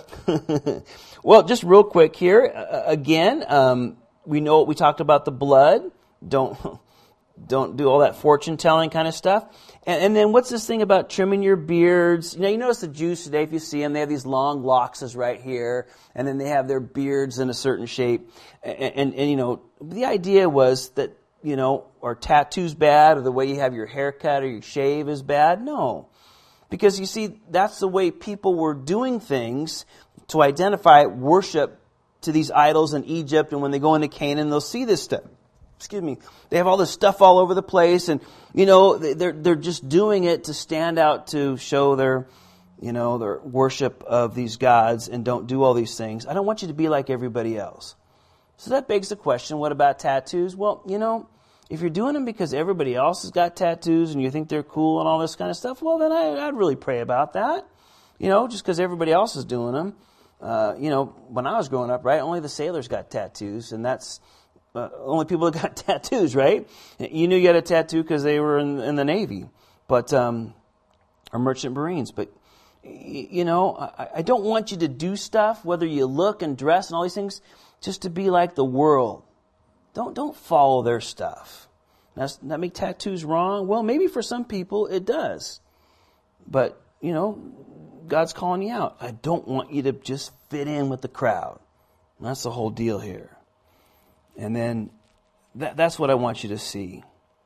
Well, just real quick here. Uh, again, um, we know we talked about the blood. Don't don't do all that fortune telling kind of stuff. And, and then what's this thing about trimming your beards? You know, you notice the Jews today, if you see them, they have these long locks right here, and then they have their beards in a certain shape. And, and, and you know, the idea was that, you know, are tattoos bad, or the way you have your hair cut or you shave is bad? No. Because you see, that's the way people were doing things to identify worship to these idols in Egypt, and when they go into Canaan, they'll see this stuff. Excuse me. They have all this stuff all over the place, and you know they're they're just doing it to stand out, to show their, you know, their worship of these gods, and don't do all these things. I don't want you to be like everybody else. So that begs the question: what about tattoos? Well, you know, if you're doing them because everybody else has got tattoos and you think they're cool and all this kind of stuff, well, then I, I'd really pray about that. You know, just because everybody else is doing them. Uh, you know, when I was growing up, right, only the sailors got tattoos, and that's uh, only people that got tattoos, right? You knew you had a tattoo because they were in, in the Navy, but um, or merchant marines. But you know, I, I don't want you to do stuff, whether you look and dress and all these things, just to be like the world. Don't don't follow their stuff. Now, does that make tattoos wrong? Well, maybe for some people it does, but you know, God's calling you out. I don't want you to just fit in with the crowd. And that's the whole deal here. And then that, that's what I want you to see.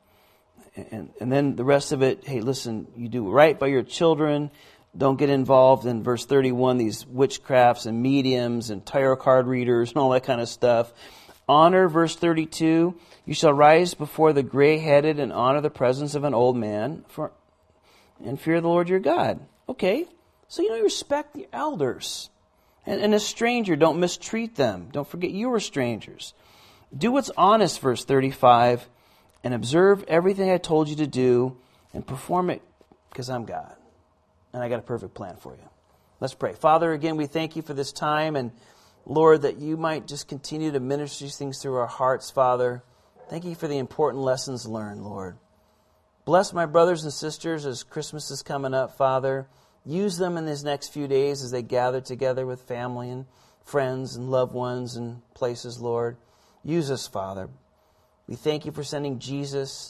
And, and then the rest of it, hey, listen, you do right by your children. Don't get involved in verse thirty-one, these witchcrafts and mediums and tarot card readers and all that kind of stuff. Honor, verse thirty-two, you shall rise before the gray-headed and honor the presence of an old man for, and fear the Lord your God. Okay. So, you know, you respect the elders. And, and a stranger, don't mistreat them. Don't forget you were strangers. Do what's honest, verse thirty-five, and observe everything I told you to do and perform it because I'm God. And I got a perfect plan for you. Let's pray. Father, again, we thank you for this time. And Lord, that you might just continue to minister these things through our hearts, Father. Thank you for the important lessons learned, Lord. Bless my brothers and sisters as Christmas is coming up, Father. Use them in these next few days as they gather together with family and friends and loved ones and places, Lord. Use us, Father. We thank you for sending Jesus.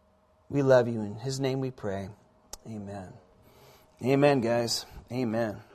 We love you. In his name we pray. Amen. Amen, guys. Amen.